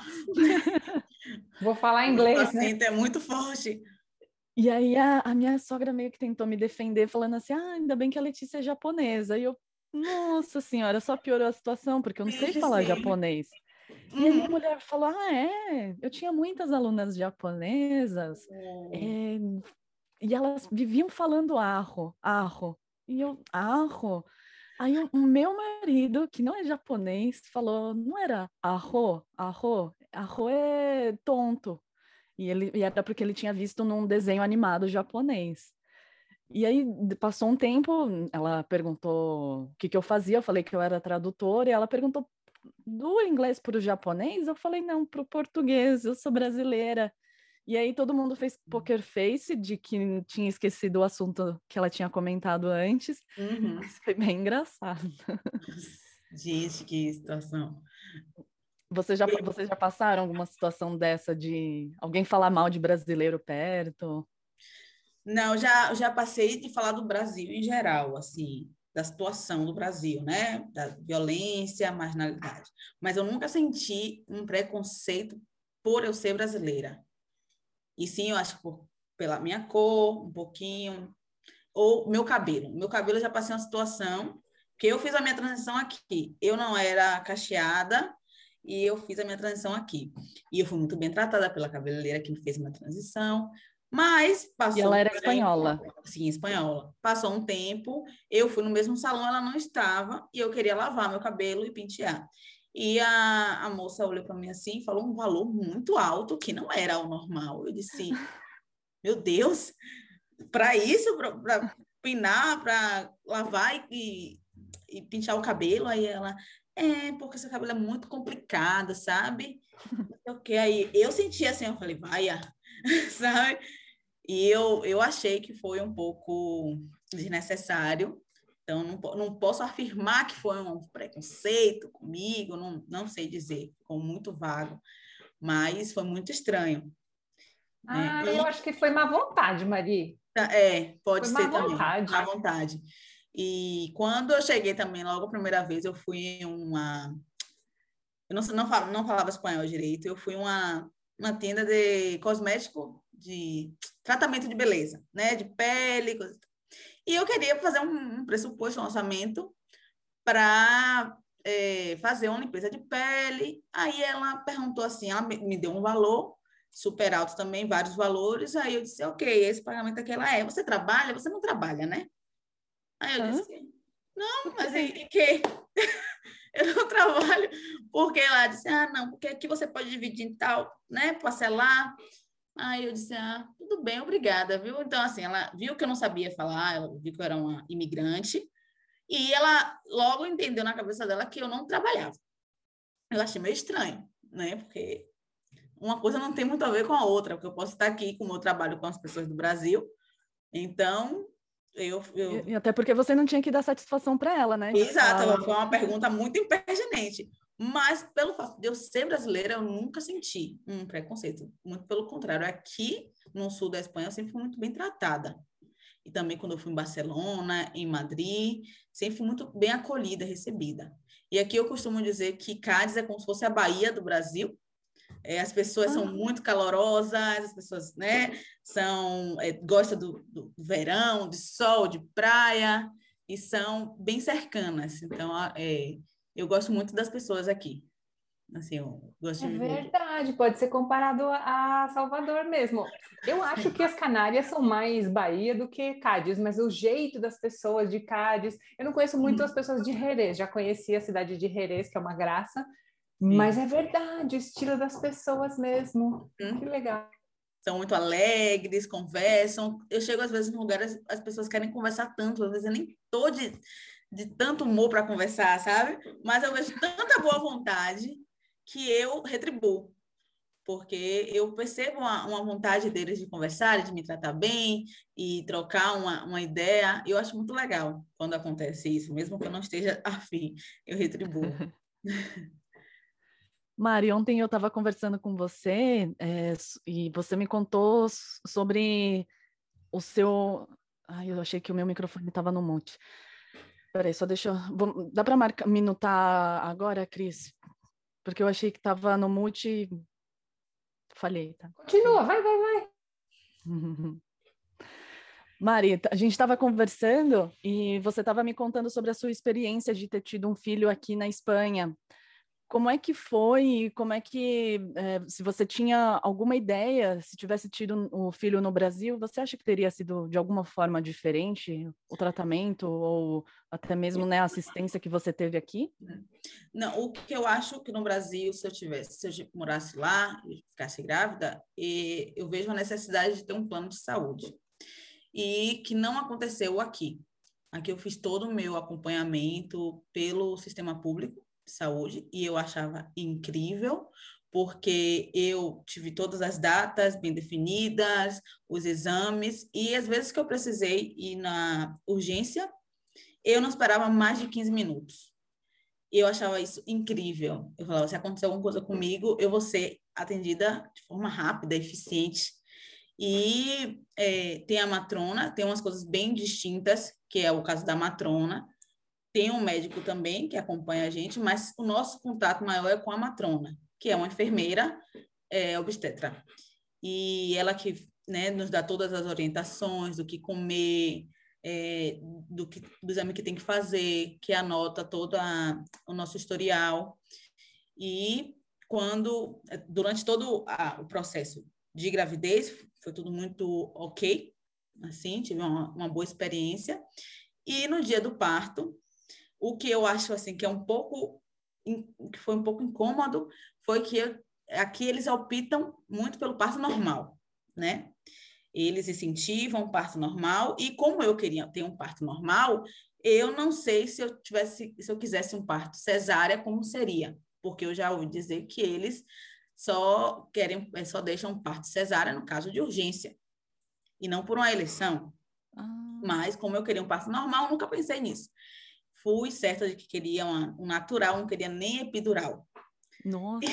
Speaker 2: Vou falar inglês,
Speaker 3: O
Speaker 2: né?
Speaker 3: acento é muito forte.
Speaker 1: E aí a, a minha sogra meio que tentou me defender, falando assim, ah, ainda bem que a Letícia é japonesa. E eu, nossa senhora, só piorou a situação, porque eu não sei
Speaker 3: Vixe,
Speaker 1: falar
Speaker 3: sim.
Speaker 1: japonês. E aí a
Speaker 3: Uhum.
Speaker 1: mulher falou, ah, é? Eu tinha muitas alunas japonesas,
Speaker 3: Oh.
Speaker 1: é, e elas viviam falando arro, arro. E eu, arro? Aí o, o meu marido, que não é japonês, falou, não era arro, arro, arro é tonto. E, ele, e era porque ele tinha visto num desenho animado japonês. E aí passou um tempo, ela perguntou o que, que eu fazia, eu falei que eu era tradutora, e ela perguntou do inglês para o japonês, eu falei não, para o português, eu sou brasileira. E aí todo mundo fez poker face de que tinha esquecido o assunto que ela tinha comentado antes,
Speaker 3: Uhum.
Speaker 1: mas foi bem engraçado.
Speaker 3: Gente, que situação.
Speaker 1: Você já, vocês já passaram alguma situação dessa de alguém falar mal de brasileiro perto?
Speaker 3: Não, já, já passei de falar do Brasil em geral, assim, da situação do Brasil, né? Da violência, marginalidade. Mas eu nunca senti um preconceito por eu ser brasileira. E sim, eu acho que por, pela minha cor, um pouquinho, ou meu cabelo. Meu cabelo eu já passei uma situação que eu fiz a minha transição aqui. Eu não era cacheada e eu fiz a minha transição aqui. E eu fui muito bem tratada pela cabeleireira que me fez a minha transição. Mas
Speaker 1: E
Speaker 3: passou
Speaker 1: ela
Speaker 3: um
Speaker 1: era
Speaker 3: tempo,
Speaker 1: espanhola.
Speaker 3: sim, espanhola. Passou um tempo, eu fui no mesmo salão, ela não estava, e eu queria lavar meu cabelo e pentear. E a, a moça olhou para mim assim e falou um valor muito alto, que não era o normal. Eu disse, meu Deus, para isso, para pinar, para lavar e, e, e pintar o cabelo. Aí ela, é, porque seu cabelo é muito complicado, sabe? Ok, aí eu senti assim, eu falei, vaia, sabe? E eu, eu achei que foi um pouco desnecessário. Então, não, não posso afirmar que foi um preconceito comigo, não, não sei dizer, ficou muito vago, mas foi muito estranho, né?
Speaker 2: Ah, eu
Speaker 3: E
Speaker 2: acho que foi má vontade, Mari.
Speaker 3: Tá, é, pode
Speaker 2: Foi má
Speaker 3: ser também, à
Speaker 2: vontade.
Speaker 3: vontade. E quando eu cheguei também, logo a primeira vez, eu fui em uma. Eu não, não, falo, não falava espanhol direito, eu fui em uma, uma tenda de cosmético, de tratamento de beleza, né? De pele, coisa. E eu queria fazer um, um pressuposto, um orçamento para é, fazer uma limpeza de pele. Aí ela perguntou assim, ela me, me deu um valor super alto também, vários valores. Aí eu disse, ok, esse pagamento aqui ela é. Você trabalha? Você não trabalha, né? Aí eu
Speaker 1: Hã?
Speaker 3: disse, não,
Speaker 1: Por
Speaker 3: mas e,
Speaker 1: quê?
Speaker 3: e que? Eu não trabalho. Porque ela disse, ah, não, porque aqui você pode dividir em tal, né? Parcelar. Aí eu disse, ah, tudo bem, obrigada, viu? Então, assim, ela viu que eu não sabia falar, ela viu que eu era uma imigrante, e ela logo entendeu na cabeça dela que eu não trabalhava. Eu achei meio estranho, né? Porque uma coisa não tem muito a ver com a outra, porque eu posso estar aqui com o meu trabalho com as pessoas do Brasil, então eu,
Speaker 1: E,
Speaker 3: eu...
Speaker 1: e até porque você não tinha que dar satisfação para ela, né? De
Speaker 3: Exato,
Speaker 1: falar,
Speaker 3: foi uma pergunta muito impertinente, mas pelo fato de eu ser brasileira, eu nunca senti um preconceito, muito pelo contrário, aqui no sul da Espanha eu sempre fui muito bem tratada. E também quando eu fui em Barcelona, em Madrid, sempre fui muito bem acolhida, recebida. E aqui eu costumo dizer que Cádiz é como se fosse a Bahia do Brasil. É, as pessoas são
Speaker 1: ah,
Speaker 3: muito calorosas, as pessoas, né, são, é, gostam do, do verão, de sol, de praia, e são bem cercanas. Então, é, eu gosto muito das pessoas aqui. Assim, eu gosto
Speaker 2: É
Speaker 3: de viver aqui.
Speaker 2: verdade, pode ser comparado a Salvador mesmo. Eu acho que as Canárias são mais Bahia do que Cádiz, mas o jeito das pessoas de Cádiz, eu não conheço muito as
Speaker 3: Uhum.
Speaker 2: pessoas de Jerez, já conheci a cidade de Jerez, que é uma graça, mas
Speaker 3: Sim.
Speaker 2: é verdade, o estilo das pessoas mesmo. Que
Speaker 3: Uhum.
Speaker 2: legal.
Speaker 3: São muito alegres, conversam. Eu chego às vezes em lugares, as pessoas querem conversar tanto, às vezes eu nem tô de, de tanto humor para conversar, sabe? Mas eu vejo tanta boa vontade que eu retribuo, porque eu percebo uma, uma vontade deles de conversar, de me tratar bem e trocar uma, uma ideia. Eu acho muito legal quando acontece isso, mesmo que eu não esteja afim, eu retribuo.
Speaker 1: Mari, ontem eu estava conversando com você, é, s- e você me contou s- sobre o seu. Ai, eu achei que o meu microfone estava no mute. Peraí, só deixa eu... Vou... Dá para marcar, minutar agora, Cris? Porque eu achei que estava no mute e falhei, tá?
Speaker 2: Continua, vai, vai, vai.
Speaker 1: Mari, a gente estava conversando e você estava me contando sobre a sua experiência de ter tido um filho aqui na Espanha. Como é que foi? Como é que, é, se você tinha alguma ideia, se tivesse tido o um filho no Brasil, você acha que teria sido de alguma forma diferente o tratamento ou até mesmo, né, a assistência que você teve aqui?
Speaker 3: Não, o que eu acho que no Brasil, se eu tivesse, se eu morasse lá e ficasse grávida, e eu vejo a necessidade de ter um plano de saúde. E que não aconteceu aqui. Aqui eu fiz todo o meu acompanhamento pelo sistema público de saúde e eu achava incrível, porque eu tive todas as datas bem definidas, os exames, e às vezes que eu precisei ir na urgência, eu não esperava mais de quinze minutos. E eu achava isso incrível. Eu falava, se acontecer alguma coisa comigo, eu vou ser atendida de forma rápida, eficiente. E é, tem a matrona, tem umas coisas bem distintas, que é o caso da matrona. Tem um médico também que acompanha a gente, mas o nosso contato maior é com a matrona, que é uma enfermeira é, obstetra. E ela que, né, nos dá todas as orientações do que comer, é, do, que, do exame que tem que fazer, que anota todo a, o nosso historial. E quando, durante todo a, o processo de gravidez, foi tudo muito ok, assim, tive uma, uma boa experiência. E no dia do parto, o que eu acho, assim, que é um pouco, que foi um pouco incômodo, foi que eu, aqui eles optam muito pelo parto normal, né? Eles incentivam o parto normal, e como eu queria ter um parto normal, eu não sei se eu tivesse, se eu quisesse um parto cesárea, como seria, porque eu já ouvi dizer que eles só querem, só deixam um parto cesárea no caso de urgência, e não por uma eleição. Ah. Mas, como eu queria um parto normal, nunca pensei nisso. Fui certa de que queria uma, um natural, não queria nem epidural.
Speaker 1: Nossa!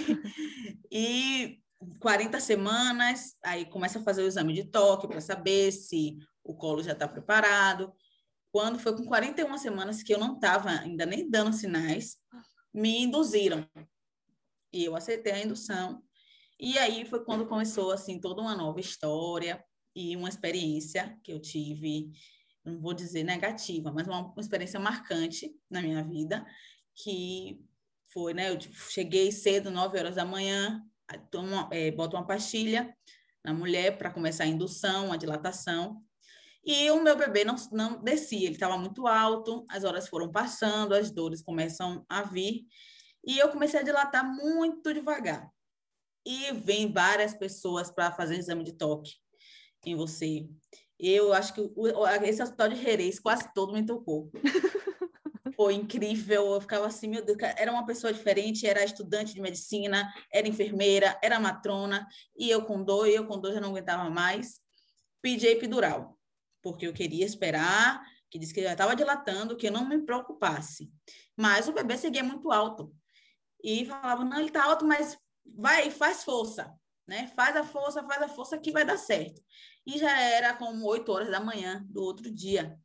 Speaker 3: E, e quarenta semanas, aí começa a fazer o exame de toque para saber se o colo já está preparado. Quando foi com quarenta e uma semanas que eu não estava ainda nem dando sinais, me induziram. E eu aceitei a indução. E aí foi quando começou, assim, toda uma nova história e uma experiência que eu tive, não vou dizer negativa, mas uma, uma experiência marcante na minha vida, que foi, né, eu cheguei cedo, nove horas da manhã, tomo, é, boto uma pastilha na mulher para começar a indução, a dilatação, e o meu bebê não, não descia, ele estava muito alto, as horas foram passando, as dores começam a vir, e eu comecei a dilatar muito devagar. E vem várias pessoas para fazer exame de toque em você. Eu acho que o, esse hospital de Jerez quase todo me tocou. Foi incrível, eu ficava assim, meu Deus, era uma pessoa diferente, era estudante de medicina, era enfermeira, era matrona, e eu com dor, e eu com dor já não aguentava mais. Pedi epidural, porque eu queria esperar, que disse que já estava dilatando, que eu não me preocupasse. Mas o bebê seguia muito alto. E falava, não, ele está alto, mas vai, faz força, né? Faz a força, faz a força que vai dar certo. E já era como oito horas da manhã do outro dia.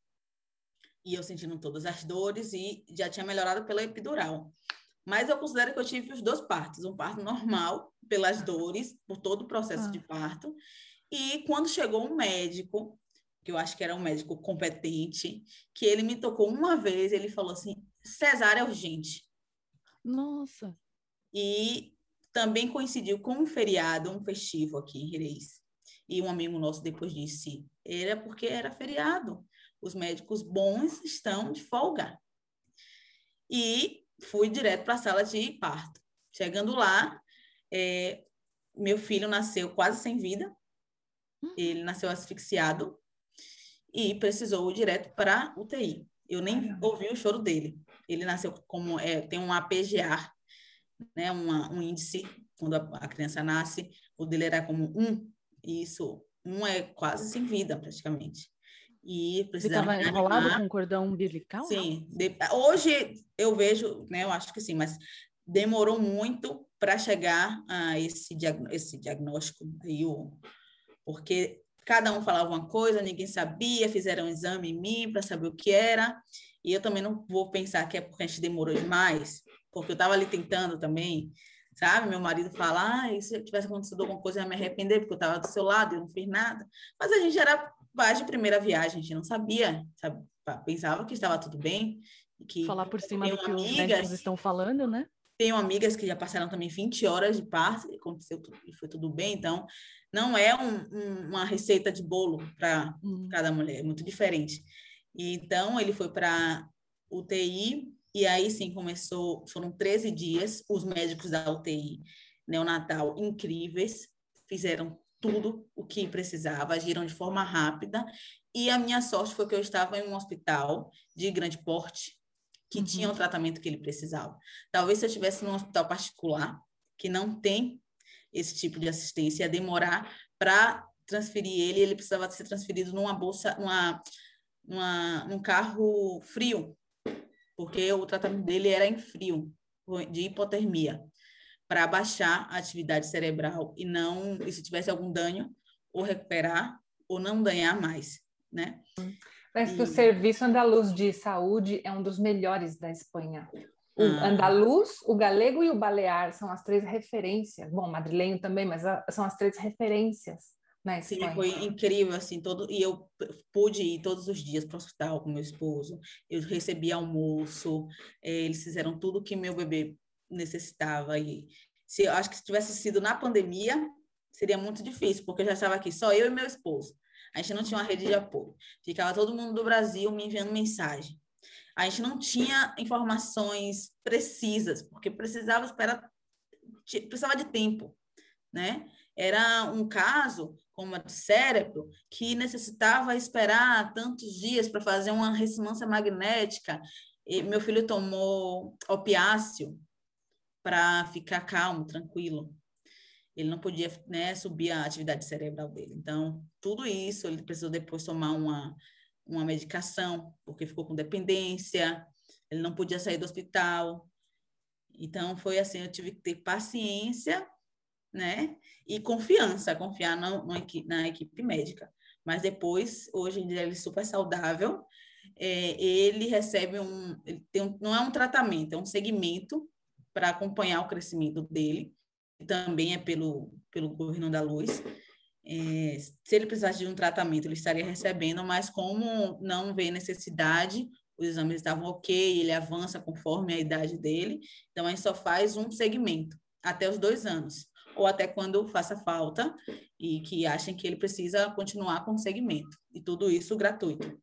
Speaker 3: E eu sentindo todas as dores e já tinha melhorado pela epidural. Mas eu considero que eu tive os dois partos. Um parto normal, pelas dores, por todo o processo ah. de parto. E quando chegou um médico, que eu acho que era um médico competente, que ele me tocou uma vez, ele falou assim, cesárea urgente.
Speaker 1: Nossa!
Speaker 3: E também coincidiu com um feriado, um festivo aqui em Jerez. E um amigo nosso depois disse, era porque era feriado. Os médicos bons estão de folga. E fui direto para a sala de parto. Chegando lá, é, meu filho nasceu quase sem vida. Ele nasceu asfixiado e precisou ir direto para U T I. Eu nem ouvi o choro dele. Ele nasceu como, é, tem um A P G A, né, uma, um índice, quando a, a criança nasce, o dele era como um, e isso, um é quase sem vida, praticamente. E precisaram
Speaker 1: Ele estava enrolado com cordão umbilical?
Speaker 3: Sim. De, hoje eu vejo, né, eu acho que sim, mas demorou muito para chegar a esse, diag, esse diagnóstico aí, o, porque cada um falava uma coisa, ninguém sabia, fizeram um exame em mim para saber o que era, E eu também não vou pensar que é porque a gente demorou demais, porque eu estava ali tentando também, sabe? Meu marido fala, ah, e se tivesse acontecido alguma coisa, eu ia me arrepender, porque eu estava do seu lado e eu não fiz nada. Mas a gente era paz de primeira viagem, a gente não sabia, sabe? Pensava que estava tudo bem. Que
Speaker 1: falar por cima do que
Speaker 3: amigas,
Speaker 1: os médicos estão falando, né?
Speaker 3: Tenho amigas que já passaram também vinte horas de parto e aconteceu tudo, e foi tudo bem. Então, não é um, um, uma receita de bolo para hum. cada mulher, é muito diferente. E, então, ele foi para U T I e aí sim começou, foram treze dias, os médicos da U T I neonatal incríveis, fizeram tudo o que precisava, agiram de forma rápida e a minha sorte foi que eu estava em um hospital de grande porte, que uhum. tinha o tratamento que ele precisava. Talvez se eu estivesse num hospital particular, que não tem esse tipo de assistência, ia demorar para transferir ele, ele precisava ser transferido numa bolsa, numa, numa, num carro frio, porque o tratamento dele era em frio, de hipotermia, para baixar a atividade cerebral e não, e se tivesse algum dano, ou recuperar, ou não danhar mais, né?
Speaker 2: Parece que o Serviço Andaluz de Saúde é um dos melhores da Espanha. O ah. andaluz, o galego e o balear são as três referências. Bom, madrilenho também, mas a, são as três referências na Espanha.
Speaker 3: Sim, foi incrível, assim, todo, e eu pude ir todos os dias para o hospital com meu esposo, eu recebi almoço, eles fizeram tudo que meu bebê necessitava, e se, eu acho que se tivesse sido na pandemia, seria muito difícil, porque eu já estava aqui, só eu e meu esposo. A gente não tinha uma rede de apoio. Ficava todo mundo do Brasil me enviando mensagem. A gente não tinha informações precisas, porque precisava esperar, precisava de tempo, né? Era um caso, como a de cérebro, que necessitava esperar tantos dias para fazer uma ressonância magnética. E meu filho tomou opiáceo para ficar calmo, tranquilo. Ele não podia, né, subir a atividade cerebral dele. Então, tudo isso, ele precisou depois tomar uma, uma medicação, porque ficou com dependência, ele não podia sair do hospital. Então, foi assim, eu tive que ter paciência, né, e confiança, confiar no, no, na equipe médica. Mas depois, hoje em dia, ele é super saudável, é, ele recebe um, ele tem um, não é um tratamento, é um segmento para acompanhar o crescimento dele, também é pelo, pelo governo da luz. É, se ele precisasse de um tratamento, ele estaria recebendo, mas como não vê necessidade, os exames estavam ok, ele avança conforme a idade dele, então a gente só faz um segmento, até os dois anos, ou até quando faça falta e que achem que ele precisa continuar com o segmento, e tudo isso gratuito.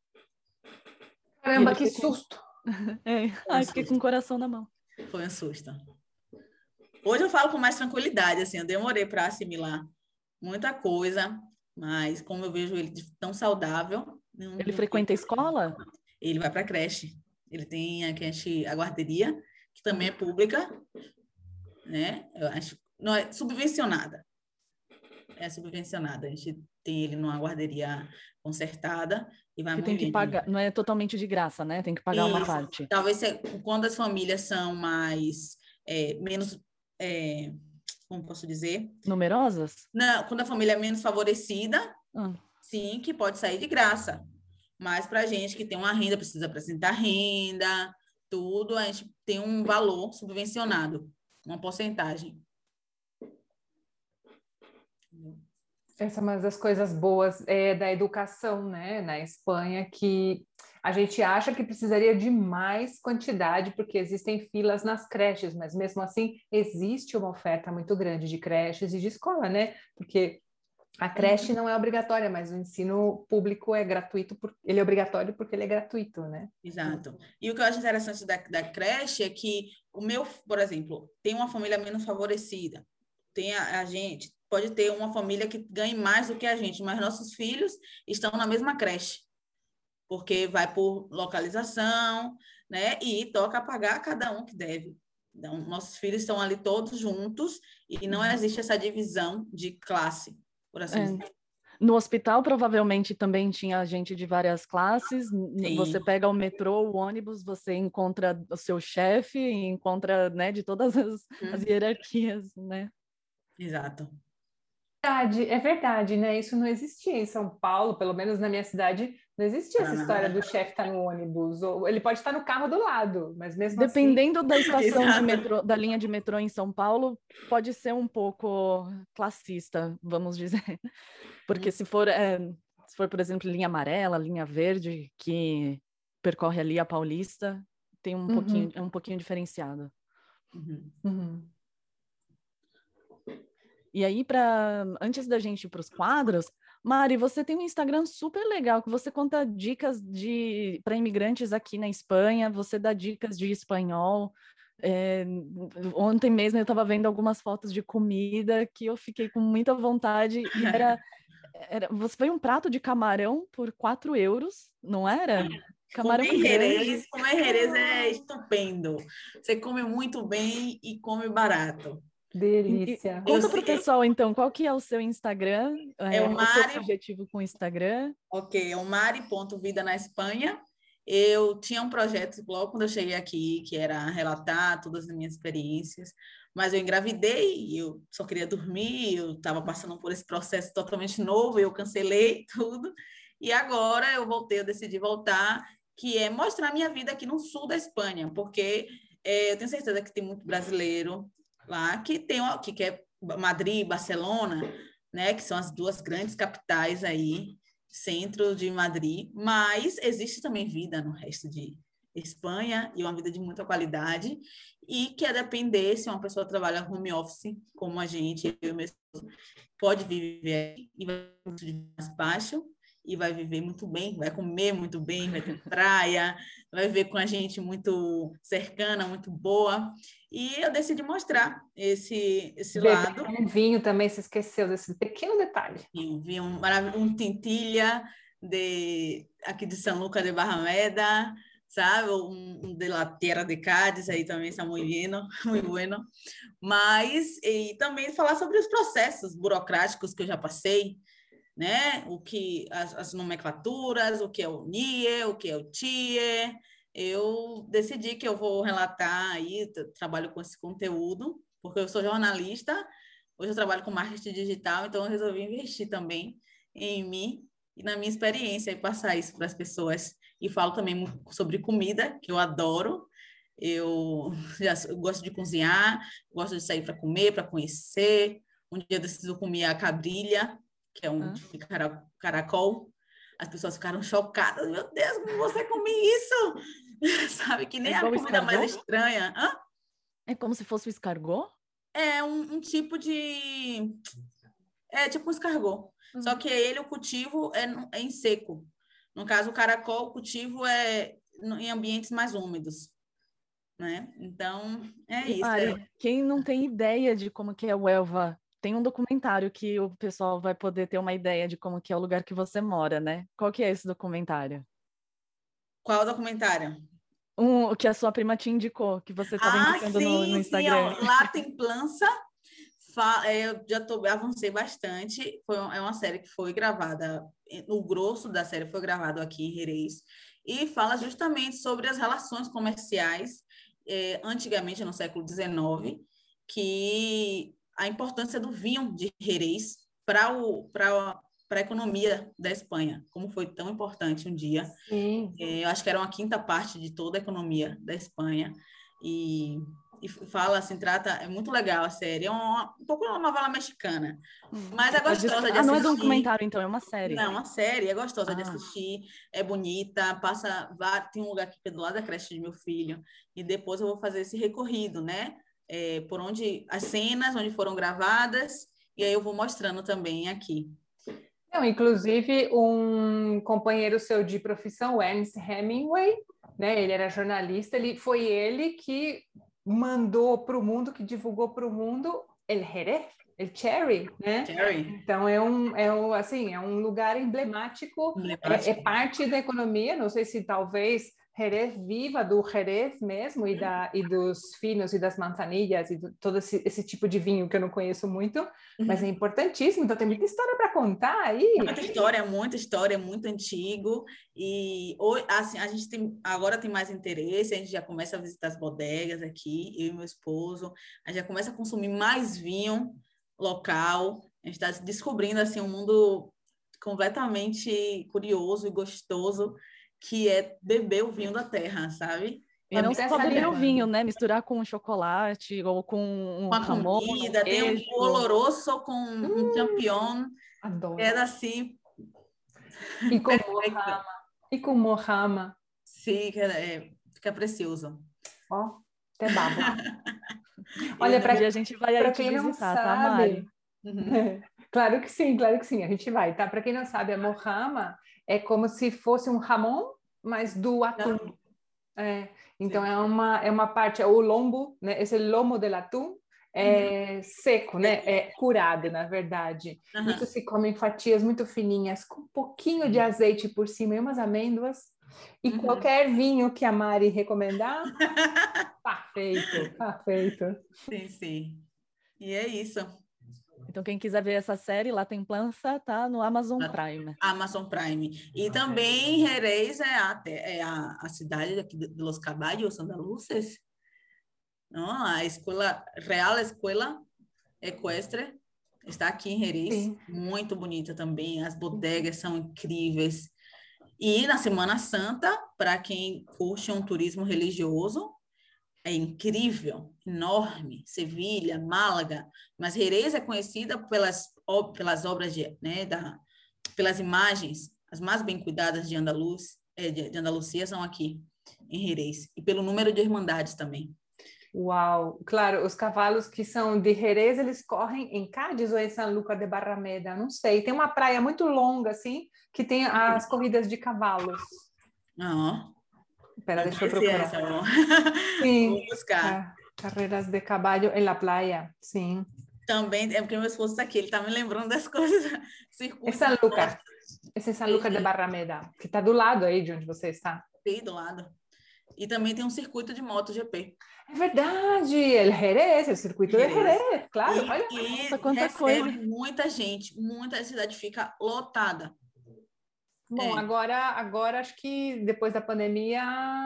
Speaker 2: Caramba, que susto!
Speaker 1: É, ai, fiquei com o coração na mão.
Speaker 3: Foi um susto. Hoje eu falo com mais tranquilidade, assim, eu demorei para assimilar muita coisa, mas como eu vejo ele tão saudável... Não,
Speaker 1: ele frequenta a escola?
Speaker 3: Ele vai para a creche. Ele tem a creche, a guarderia, que também é pública, né? Eu acho, não é subvencionada. É subvencionada. A gente tem ele numa guarderia concertada e vai
Speaker 1: que tem que pagar, não é totalmente de graça, né? Tem que pagar Isso. uma parte.
Speaker 3: Talvez quando as famílias são mais... É, menos... É, como posso dizer?
Speaker 1: Numerosas?
Speaker 3: Não, quando a família é menos favorecida,
Speaker 1: ah.
Speaker 3: sim, que pode sair de graça. Mas para a gente que tem uma renda, precisa apresentar renda, tudo, a gente tem um valor subvencionado, uma porcentagem.
Speaker 2: Essa é uma das coisas boas é, da educação, né, na Espanha, que a gente acha que precisaria de mais quantidade, porque existem filas nas creches, mas mesmo assim existe uma oferta muito grande de creches e de escola, né? Porque a creche não é obrigatória, mas o ensino público é gratuito, por, ele é obrigatório porque ele é gratuito, né?
Speaker 3: Exato. E o que eu acho interessante da, da creche é que o meu, por exemplo, tem uma família menos favorecida, tem a, a gente, pode ter uma família que ganhe mais do que a gente, mas nossos filhos estão na mesma creche, porque vai por localização, né? E toca pagar cada um que deve. Então, nossos filhos estão ali todos juntos e não existe essa divisão de classe, por assim dizer.
Speaker 1: É. No hospital, provavelmente, também tinha gente de várias classes. Sim. Você pega o metrô, o ônibus, você encontra o seu chefe, encontra, né, de todas as, hum. as hierarquias, né?
Speaker 3: Exato.
Speaker 2: É verdade, né? Isso não existia em São Paulo, pelo menos na minha cidade, Não existia essa história do chefe estar no ônibus, ou ele pode estar no carro do lado, mas mesmo
Speaker 1: Dependendo
Speaker 2: assim...
Speaker 1: da estação de metrô, da linha de metrô em São Paulo, pode ser um pouco classista, vamos dizer. Porque se for, é, se for, por exemplo, linha amarela, linha verde, que percorre ali a Paulista, tem um, uhum. pouquinho, é um pouquinho diferenciado.
Speaker 2: Uhum. Uhum.
Speaker 1: E aí, pra, antes da gente ir para os quadros, Mari, você tem um Instagram super legal, que você conta dicas de para imigrantes aqui na Espanha, você dá dicas de espanhol. É, ontem mesmo eu estava vendo algumas fotos de comida que eu fiquei com muita vontade, e era, era você foi um prato de camarão por quatro euros, não era? Camarão
Speaker 3: comer
Speaker 1: grande.
Speaker 3: Jerez, comer Jerez é estupendo. Você come muito bem e come barato.
Speaker 2: Delícia.
Speaker 1: E, conta para o pessoal, então, qual que é o seu Instagram?
Speaker 3: É, é o, Mari...
Speaker 1: o seu objetivo com o Instagram?
Speaker 3: Ok, é o mari ponto vida na Espanha. Eu tinha um projeto logo quando eu cheguei aqui, que era relatar todas as minhas experiências, mas eu engravidei, eu só queria dormir, eu estava passando por esse processo totalmente novo, eu cancelei tudo, e agora eu voltei, eu decidi voltar, que é mostrar a minha vida aqui no sul da Espanha, porque é, eu tenho certeza que tem muito brasileiro lá que tem que quer Madrid, Barcelona, né, que são as duas grandes capitais aí, centro de Madrid, mas existe também vida no resto de Espanha e uma vida de muita qualidade, e que a depender se uma pessoa trabalha home office, como a gente, eu mesmo, pode viver e vai muito mais baixo, e vai viver muito bem, vai comer muito bem, vai ter praia, vai viver com a gente muito cercana, muito boa. E eu decidi mostrar esse, esse lado.
Speaker 2: Um vinho também, se esqueceu desse pequeno detalhe.
Speaker 3: Um vinho, um, um tintilha de, aqui de São Lucas de Barrameda, sabe? Um, um de la Tierra de Cádiz, aí também está muito bueno, muito bueno. Mas, e também falar sobre os processos burocráticos que eu já passei, né? O que as, as nomenclaturas, o que é o N I E, o que é o T I E. Eu decidi que eu vou relatar aí, trabalho com esse conteúdo, porque eu sou jornalista, hoje eu trabalho com marketing digital, então eu resolvi investir também em mim e na minha experiência e passar isso para as pessoas. E falo também sobre comida, que eu adoro. Eu já eu gosto de cozinhar, gosto de sair para comer, para conhecer. Um dia desses eu comi a cabrilha, que é um ah. tipo de caracol. As pessoas ficaram chocadas. Meu Deus, como você come isso? Sabe, que nem é a comida escargot? Mais estranha. Hã?
Speaker 1: É como se fosse o escargot?
Speaker 3: É um, um tipo de... É tipo um escargot. Uhum. Só que ele, o cultivo é, é em seco. No caso, o caracol, o cultivo é em ambientes mais úmidos. Né? Então, é isso.
Speaker 1: Mari,
Speaker 3: é...
Speaker 1: Quem não tem ideia de como que é o Huelva, tem um documentário que o pessoal vai poder ter uma ideia de como que é o lugar que você mora, né? Qual que é esse documentário?
Speaker 3: Qual documentário?
Speaker 1: Um que a sua prima te indicou, que você estava
Speaker 3: ah,
Speaker 1: indicando
Speaker 3: sim,
Speaker 1: no, no Instagram.
Speaker 3: Sim, lá tem Plança. Eu já tô, avancei bastante. Foi, é uma série que foi gravada, o grosso da série foi gravado aqui em Jerez, e fala justamente sobre as relações comerciais, eh, antigamente, no século dezenove, que a importância do vinho de Jerez para a economia da Espanha, como foi tão importante um dia.
Speaker 2: Sim.
Speaker 3: Eh, eu acho que era uma quinta parte de toda a economia da Espanha, e e fala, assim, trata, é muito legal a série, é uma, um pouco uma novela mexicana, mas é gostosa de assistir.
Speaker 1: Ah, não é documentário, então, é uma série.
Speaker 3: Não, é uma série, é gostosa ah. de assistir, é bonita, passa, tem um lugar aqui do lado da creche de meu filho, e depois eu vou fazer esse recorrido, né, é, por onde, as cenas, onde foram gravadas, e aí eu vou mostrando também aqui.
Speaker 2: Não, inclusive, um companheiro seu de profissão, Ernest Hemingway, né, ele era jornalista, ele, foi ele que mandou para o mundo, que divulgou para o mundo El Jerez, El Cherry, né?
Speaker 3: Cherry.
Speaker 2: Então é um, é um, assim, é um lugar emblemático, emblemático. É, é parte da economia, não sei se talvez Jerez viva do Jerez mesmo e, da, e dos finos e das manzanillas e do, todo esse, esse tipo de vinho que eu não conheço muito, mas é importantíssimo, então tem muita história para contar aí.
Speaker 3: Muita história, muita história, muito antigo, e assim, a gente tem, agora tem mais interesse, a gente já começa a visitar as bodegas aqui, eu e meu esposo, a gente já começa a consumir mais vinho local, a gente está descobrindo assim um mundo completamente curioso e gostoso, que é beber o vinho da terra, sabe?
Speaker 1: E não só beber o vinho, né? Misturar com chocolate ou com um
Speaker 3: uma
Speaker 1: jamón,
Speaker 3: comida,
Speaker 1: um
Speaker 3: tem um oloroso com um
Speaker 2: hum,
Speaker 3: champignon,
Speaker 2: adoro.
Speaker 3: é assim.
Speaker 2: E com mojarra. E com mojarra.
Speaker 3: Sim, é, fica precioso.
Speaker 2: Ó, até babo.
Speaker 1: Olha, para a gente vai aí te
Speaker 2: quem
Speaker 1: visitar,
Speaker 2: não
Speaker 1: tá, Mari?
Speaker 2: Uhum. Claro que sim, claro que sim, a gente vai, tá? Para quem não sabe, a mojarra é como se fosse um jamón, mas do atum. É, então é uma, é uma parte, é o lombo, né? Esse lomo del atum é uhum. seco, né? É curado, na verdade. Uhum. Isso se come em fatias muito fininhas, com um pouquinho de azeite por cima e umas amêndoas. E uhum. qualquer vinho que a Mari recomendar, tá feito, tá feito.
Speaker 3: Sim, sim. E é isso.
Speaker 1: Então, quem quiser ver essa série, lá tem Plança, tá no Amazon Prime.
Speaker 3: Amazon Prime. E também Jerez é a, é a, a cidade aqui de Los Caballos Andaluces. Não? A escola, Real Escola Equestre está aqui em Jerez. Sim. Muito bonita também. As bodegas são incríveis. E na Semana Santa, para quem curte um turismo religioso, é incrível, enorme, Sevilha, Málaga, mas Jerez é conhecida pelas, pelas obras, de, né, da, pelas imagens, as mais bem cuidadas de, Andaluz, de, de Andalucia são aqui, em Jerez, e pelo número de irmandades também.
Speaker 2: Uau! Claro, os cavalos que são de Jerez, eles correm em Cádiz ou em San Luca de Barrameda? Não sei, tem uma praia muito longa, assim, que tem as corridas de cavalos.
Speaker 3: Ah,
Speaker 2: Espera, deixa eu procurar.
Speaker 3: Essa,
Speaker 2: sim,
Speaker 3: vou buscar.
Speaker 2: Carreiras de caballo em la playa, sim.
Speaker 3: Também, é porque meu esposo está aqui, ele está me lembrando das coisas.
Speaker 2: É San Luca, esse é San Luca de Barrameda, que está do lado aí de onde você está.
Speaker 3: Sim, do lado. E também tem um circuito de MotoGP.
Speaker 2: É verdade, el Jerez, o circuito Jerez. de Jerez, claro.
Speaker 3: E,
Speaker 2: Olha,
Speaker 3: e
Speaker 1: nossa, quanta
Speaker 3: recebe
Speaker 1: coisa.
Speaker 3: muita gente, muita cidade fica lotada.
Speaker 2: Bom, é. agora, agora acho que depois da pandemia...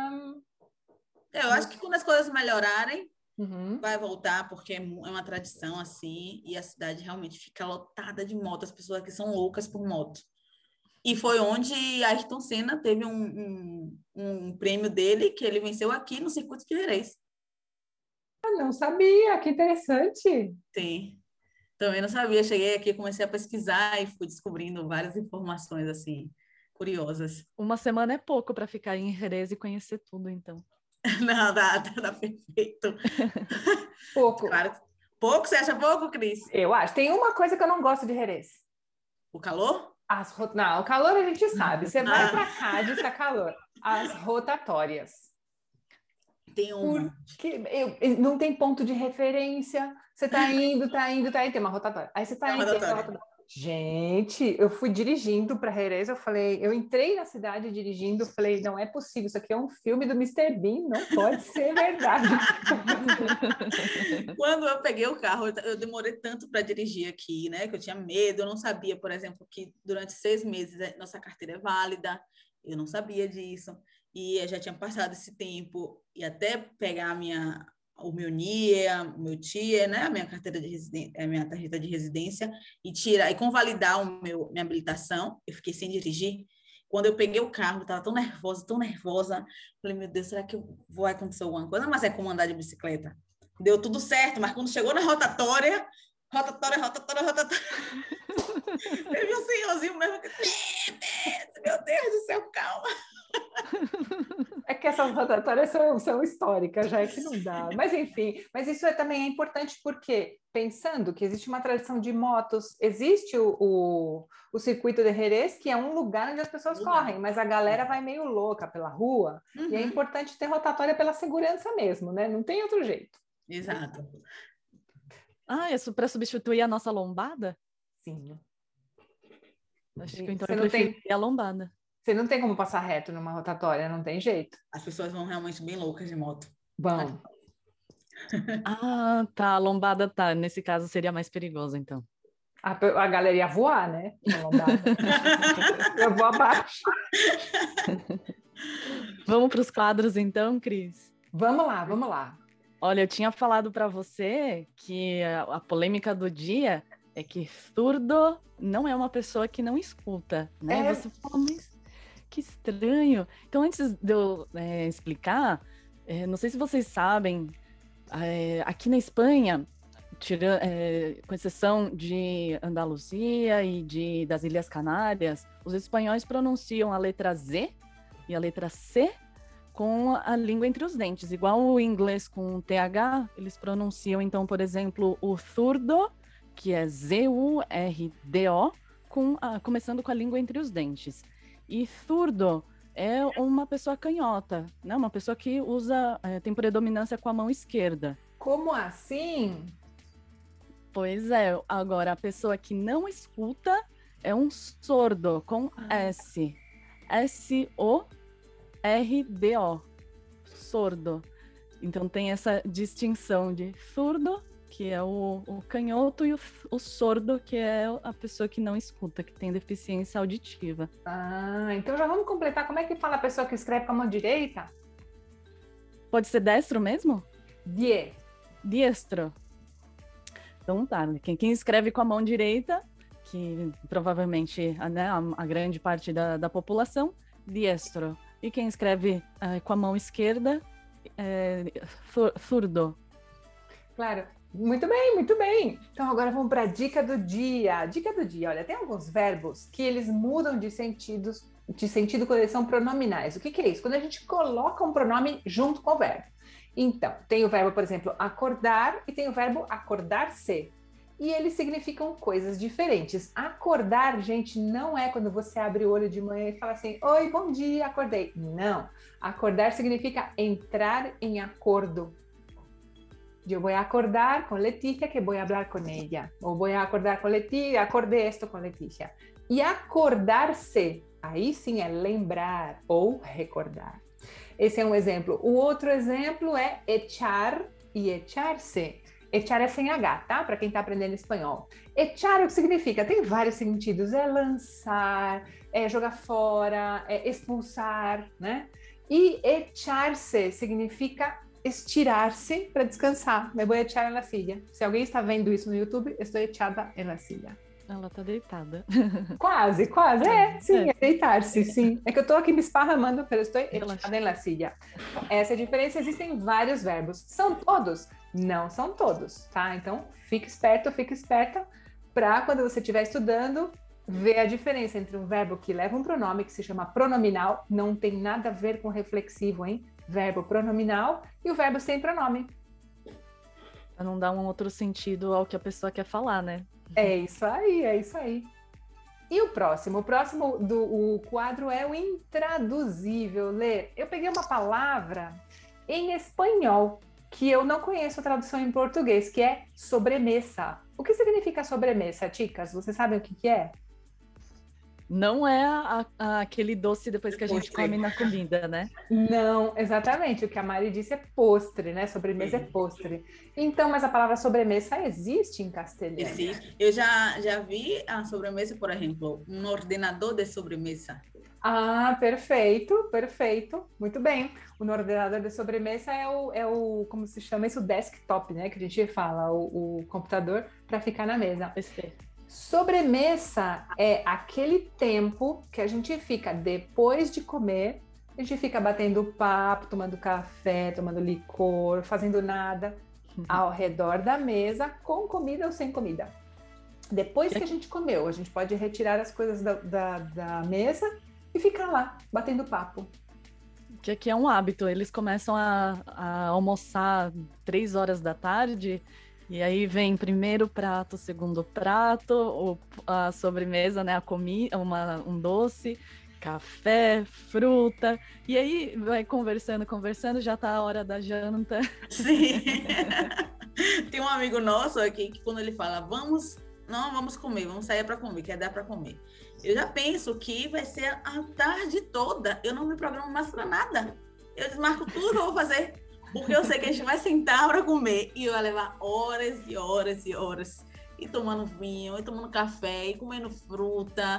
Speaker 3: Eu acho que quando as coisas melhorarem,
Speaker 2: uhum.
Speaker 3: vai voltar, porque é uma tradição assim, e a cidade realmente fica lotada de moto, as pessoas aqui são loucas por moto. E foi onde Ayrton Senna teve um, um, um prêmio dele, que ele venceu aqui no circuito de Jerez.
Speaker 2: Ah, não sabia, que interessante.
Speaker 3: Sim, também não sabia. Cheguei aqui, comecei a pesquisar e fui descobrindo várias informações assim, curiosas.
Speaker 1: Uma semana é pouco para ficar em Jerez e conhecer tudo, então.
Speaker 3: Não, dá, dá, dá perfeito.
Speaker 2: Pouco.
Speaker 3: Claro. Pouco? Você acha pouco, Cris?
Speaker 2: Eu acho. Tem uma coisa que eu não gosto de Jerez.
Speaker 3: O calor?
Speaker 2: As rot... Não, o calor a gente sabe. Você vai para Cádiz, está calor. As rotatórias.
Speaker 3: Tem uma.
Speaker 2: Porque eu, não tem ponto de referência. Você está indo, está indo, está indo, tem uma rotatória. Aí você está indo, tem uma rotatória. Gente, eu fui dirigindo para Jerez, eu falei, eu entrei na cidade dirigindo, falei, não é possível, isso aqui é um filme do mister Bean, não pode ser verdade.
Speaker 3: Quando eu peguei o carro, eu demorei tanto para dirigir aqui, né, que eu tinha medo, eu não sabia, por exemplo, que durante seis meses nossa carteira é válida, eu não sabia disso, e eu já tinha passado esse tempo, e até pegar a minha... o meu N I E, o meu T I E, né, a minha carteira de residência, a minha tarjeta de residência, e tirar e convalidar o meu minha habilitação, eu fiquei sem dirigir. Quando eu peguei o carro, eu estava tão nervosa, tão nervosa, falei, meu Deus, será que eu vou acontecer alguma coisa? Mas é como andar de bicicleta. Deu tudo certo, mas quando chegou na rotatória, rotatória, rotatória, rotatória, teve um senhorzinho mesmo que, meu Deus do céu, calma.
Speaker 2: É que essas rotatórias são, são históricas, já é que não dá. Mas, enfim, mas isso é, também é importante porque, pensando que existe uma tradição de motos, existe o, o, o circuito de Jerez, que é um lugar onde as pessoas lugar. correm, mas a galera vai meio louca pela rua, uhum. e é importante ter rotatória pela segurança mesmo, né? Não tem outro jeito.
Speaker 3: Exato.
Speaker 1: Ah, isso para substituir a nossa lombada?
Speaker 2: Sim.
Speaker 1: Acho que então Você eu prefiro tem... a lombada.
Speaker 2: Você não tem como passar reto numa rotatória, não tem jeito.
Speaker 3: As pessoas vão realmente bem loucas de moto.
Speaker 2: Vão.
Speaker 1: Ah, tá. A lombada tá. Nesse caso seria mais perigoso, então.
Speaker 2: A, a galera ia voar, né? A lombada. Eu vou abaixo.
Speaker 1: Vamos para os quadros, então, Cris?
Speaker 2: Vamos lá, vamos lá.
Speaker 1: Olha, eu tinha falado para você que a, a polêmica do dia é que surdo não é uma pessoa que não escuta, né?
Speaker 2: É.
Speaker 1: Você fala, mas que estranho. Então, antes de eu é, explicar, é, não sei se vocês sabem, é, aqui na Espanha, tira, é, com exceção de Andaluzia e de, das Ilhas Canárias, os espanhóis pronunciam a letra Z e a letra C com a língua entre os dentes. Igual o inglês com T H, eles pronunciam, então, por exemplo, o zurdo, que é Z U R D O, com a, começando com a língua entre os dentes. E zurdo é uma pessoa canhota, né? Uma pessoa que usa, é, tem predominância com a mão esquerda.
Speaker 2: Como assim?
Speaker 1: Pois é, agora a pessoa que não escuta é um sordo, com S. S O R D O. Sordo. Então tem essa distinção de surdo, que é o, o canhoto, e o, o sordo, que é a pessoa que não escuta, que tem deficiência auditiva.
Speaker 2: Ah, então já vamos completar. Como é que fala a pessoa que escreve com a mão direita?
Speaker 1: Pode ser destro mesmo?
Speaker 2: Die.
Speaker 1: Diestro. Então tá, quem, quem escreve com a mão direita, que provavelmente, né, a, a grande parte da, da população, diestro. E quem escreve uh, com a mão esquerda, é, zurdo.
Speaker 2: Claro. Muito bem, muito bem. Então agora vamos para a dica do dia. Dica do dia, olha, tem alguns verbos que eles mudam de sentidos, de sentido quando eles são pronominais. O que, que é isso? Quando a gente coloca um pronome junto com o verbo. Então, tem o verbo, por exemplo, acordar e tem o verbo acordar-se. E eles significam coisas diferentes. Acordar, gente, não é quando você abre o olho de manhã e fala assim, oi, bom dia, acordei. Não. Acordar significa entrar em acordo. Eu vou acordar com Letícia que vou falar com ela. Ou vou acordar com Letícia, acordei esto com Letícia. E acordar-se, aí sim é lembrar ou recordar. Esse é um exemplo. O outro exemplo é echar e echar-se. Echar é sem H, tá? Para quem está aprendendo espanhol. Echar, o que significa? Tem vários sentidos. É lançar, é jogar fora, é expulsar, né? E echar-se significa estirar-se para descansar. Me vou echar en la silla. Se alguém está vendo isso no YouTube, estou echada en la silla.
Speaker 1: Ela tá deitada.
Speaker 2: Quase, quase. É, sim, é, é deitar-se, sim. É que eu tô aqui me esparramando, mas eu estou echada en la silla. Essa é a diferença. Existem vários verbos. São todos? Não são todos, tá? Então, fique esperto, fique esperta para quando você estiver estudando, ver a diferença entre um verbo que leva um pronome, que se chama pronominal, não tem nada a ver com reflexivo, hein? Verbo pronominal e o verbo sem pronome.
Speaker 1: Para não dar um outro sentido ao que a pessoa quer falar, né?
Speaker 2: É isso aí, é isso aí. E o próximo? O próximo do o quadro é o intraduzível. Lê, eu peguei uma palavra em espanhol que eu não conheço a tradução em português, que é sobremesa. O que significa sobremesa, chicas? Vocês sabem o que, que é?
Speaker 1: Não é a, a, aquele doce depois que a gente come na comida, né?
Speaker 2: Não, exatamente. O que a Mari disse é postre, né? Sobremesa é postre. Então, mas a palavra sobremesa existe em castelhano?
Speaker 3: Existe. Eu já, já vi a sobremesa, por exemplo, um ordenador de sobremesa.
Speaker 2: Ah, perfeito, perfeito. Muito bem. O ordenador de sobremesa é o, é o, como se chama isso, o desktop, né? Que a gente fala, o, o computador para ficar na mesa.
Speaker 1: Perfeito.
Speaker 2: Sobremesa é aquele tempo que a gente fica depois de comer, a gente fica batendo papo, tomando café, tomando licor, fazendo nada, uhum, ao redor da mesa, com comida ou sem comida. Depois que a gente comeu, a gente pode retirar as coisas da, da, da mesa e ficar lá, batendo papo.
Speaker 1: Que aqui é um hábito, eles começam a, a almoçar três horas da tarde. E aí vem primeiro prato, segundo prato, o, a sobremesa, né, a comida, uma, um doce, café, fruta. E aí vai conversando, conversando, já tá a hora da janta.
Speaker 3: Sim. Tem um amigo nosso aqui que quando ele fala, vamos, não, vamos comer, vamos sair para comer, quer dar para comer. Eu já penso que vai ser a tarde toda, eu não me programo mais para nada. Eu desmarco tudo que eu vou fazer. Porque eu sei que a gente vai sentar para comer e vai levar horas e horas e horas. E tomando vinho, e tomando café, e comendo fruta.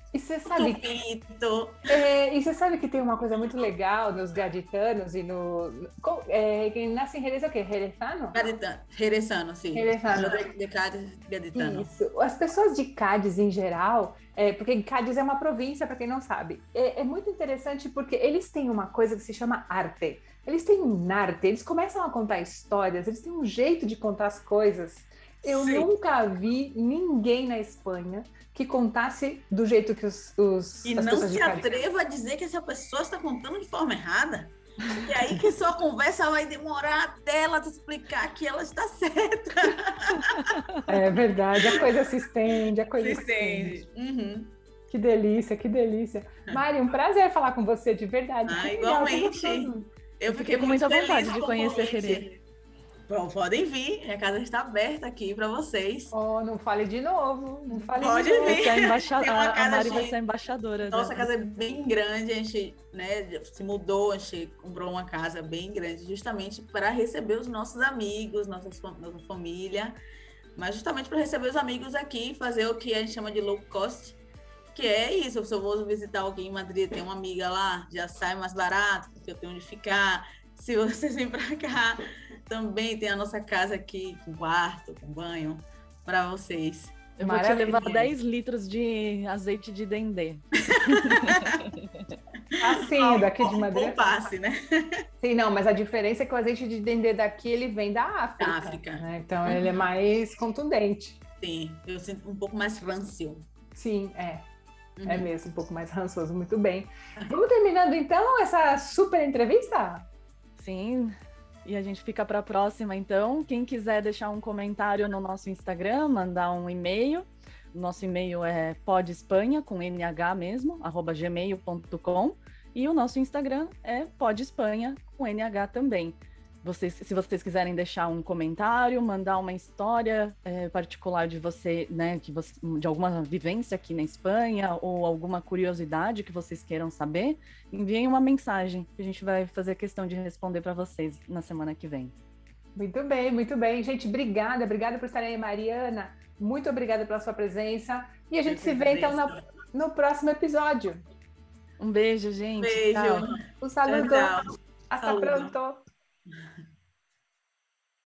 Speaker 2: E você sabe,
Speaker 3: Tupito.
Speaker 2: É, e você sabe que tem uma coisa muito legal nos gaditanos e no... É, quem nasce em Jerez é o quê? Jerezano?
Speaker 3: Gaditano, Jerezano, sim.
Speaker 2: Jerezano.
Speaker 3: De, de Cádiz, gaditano.
Speaker 2: Isso. As pessoas de Cádiz, em geral, é, porque Cádiz é uma província, para quem não sabe, é, é muito interessante porque eles têm uma coisa que se chama arte. Eles têm um arte, eles começam a contar histórias, eles têm um jeito de contar as coisas. Eu Sim. nunca vi ninguém na Espanha que contasse do jeito que os, os
Speaker 3: e
Speaker 2: as
Speaker 3: não
Speaker 2: pessoas
Speaker 3: se atreva a dizer que essa pessoa está contando de forma errada. E aí que sua conversa vai demorar até ela te explicar que ela está certa.
Speaker 2: É verdade, a coisa se estende, a coisa
Speaker 3: se,
Speaker 2: se
Speaker 3: estende.
Speaker 2: estende.
Speaker 3: Uhum.
Speaker 2: Que delícia, que delícia. Mari, um prazer falar com você, de verdade.
Speaker 3: Ah,
Speaker 2: que
Speaker 3: igualmente.
Speaker 2: Legal,
Speaker 1: eu fiquei com muita vontade de conhecer Jerez.
Speaker 3: Bom, podem vir, a casa está aberta aqui para vocês.
Speaker 2: Oh, não fale de novo, não fale
Speaker 3: Pode
Speaker 2: de novo.
Speaker 3: vir.
Speaker 1: A, embaixada, a Mari
Speaker 3: de...
Speaker 1: vai ser a embaixadora.
Speaker 3: Nossa
Speaker 1: da...
Speaker 3: casa é bem grande, a gente, né, se mudou, a gente comprou uma casa bem grande justamente para receber os nossos amigos, nossas, nossa família, mas justamente para receber os amigos aqui, fazer o que a gente chama de low cost, que é isso, se eu vou visitar alguém em Madrid, tem uma amiga lá, já sai mais barato, porque eu tenho onde ficar. Se vocês vêm para cá, também tem a nossa casa aqui, com quarto, com banho, para vocês.
Speaker 1: Eu vou te levar dez litros de azeite de dendê.
Speaker 2: Assim, daqui de Madrid.
Speaker 3: Um passe, né?
Speaker 2: Sim, não, mas a diferença é que o azeite de dendê daqui, ele vem da África.
Speaker 3: Da África.
Speaker 2: Né? Então, uhum. ele é mais contundente.
Speaker 3: Sim, eu sinto um pouco mais rancio.
Speaker 2: Sim, é. Uhum. É mesmo, um pouco mais rançoso. Muito bem. Vamos terminando, então, essa super entrevista?
Speaker 1: Sim, e a gente fica para a próxima, então. Quem quiser deixar um comentário no nosso Instagram, mandar um e-mail. O nosso e-mail é podespanha, com N H mesmo, arroba gmail ponto com. E o nosso Instagram é podespanha, com N H também. Vocês, se vocês quiserem deixar um comentário, mandar uma história é, particular de você, né, que você, de alguma vivência aqui na Espanha ou alguma curiosidade que vocês queiram saber, enviem uma mensagem que a gente vai fazer questão de responder para vocês na semana que vem.
Speaker 2: Muito bem, muito bem. Gente, obrigada, obrigada por estarem aí, Mariana. Muito obrigada pela sua presença. E a gente Eu se vê, então, no, no próximo episódio.
Speaker 1: Um beijo, gente.
Speaker 3: Beijo.
Speaker 2: Tchau. Um saludo.
Speaker 3: Tchau, tchau.
Speaker 2: Hasta
Speaker 3: Saludo.
Speaker 2: pronto.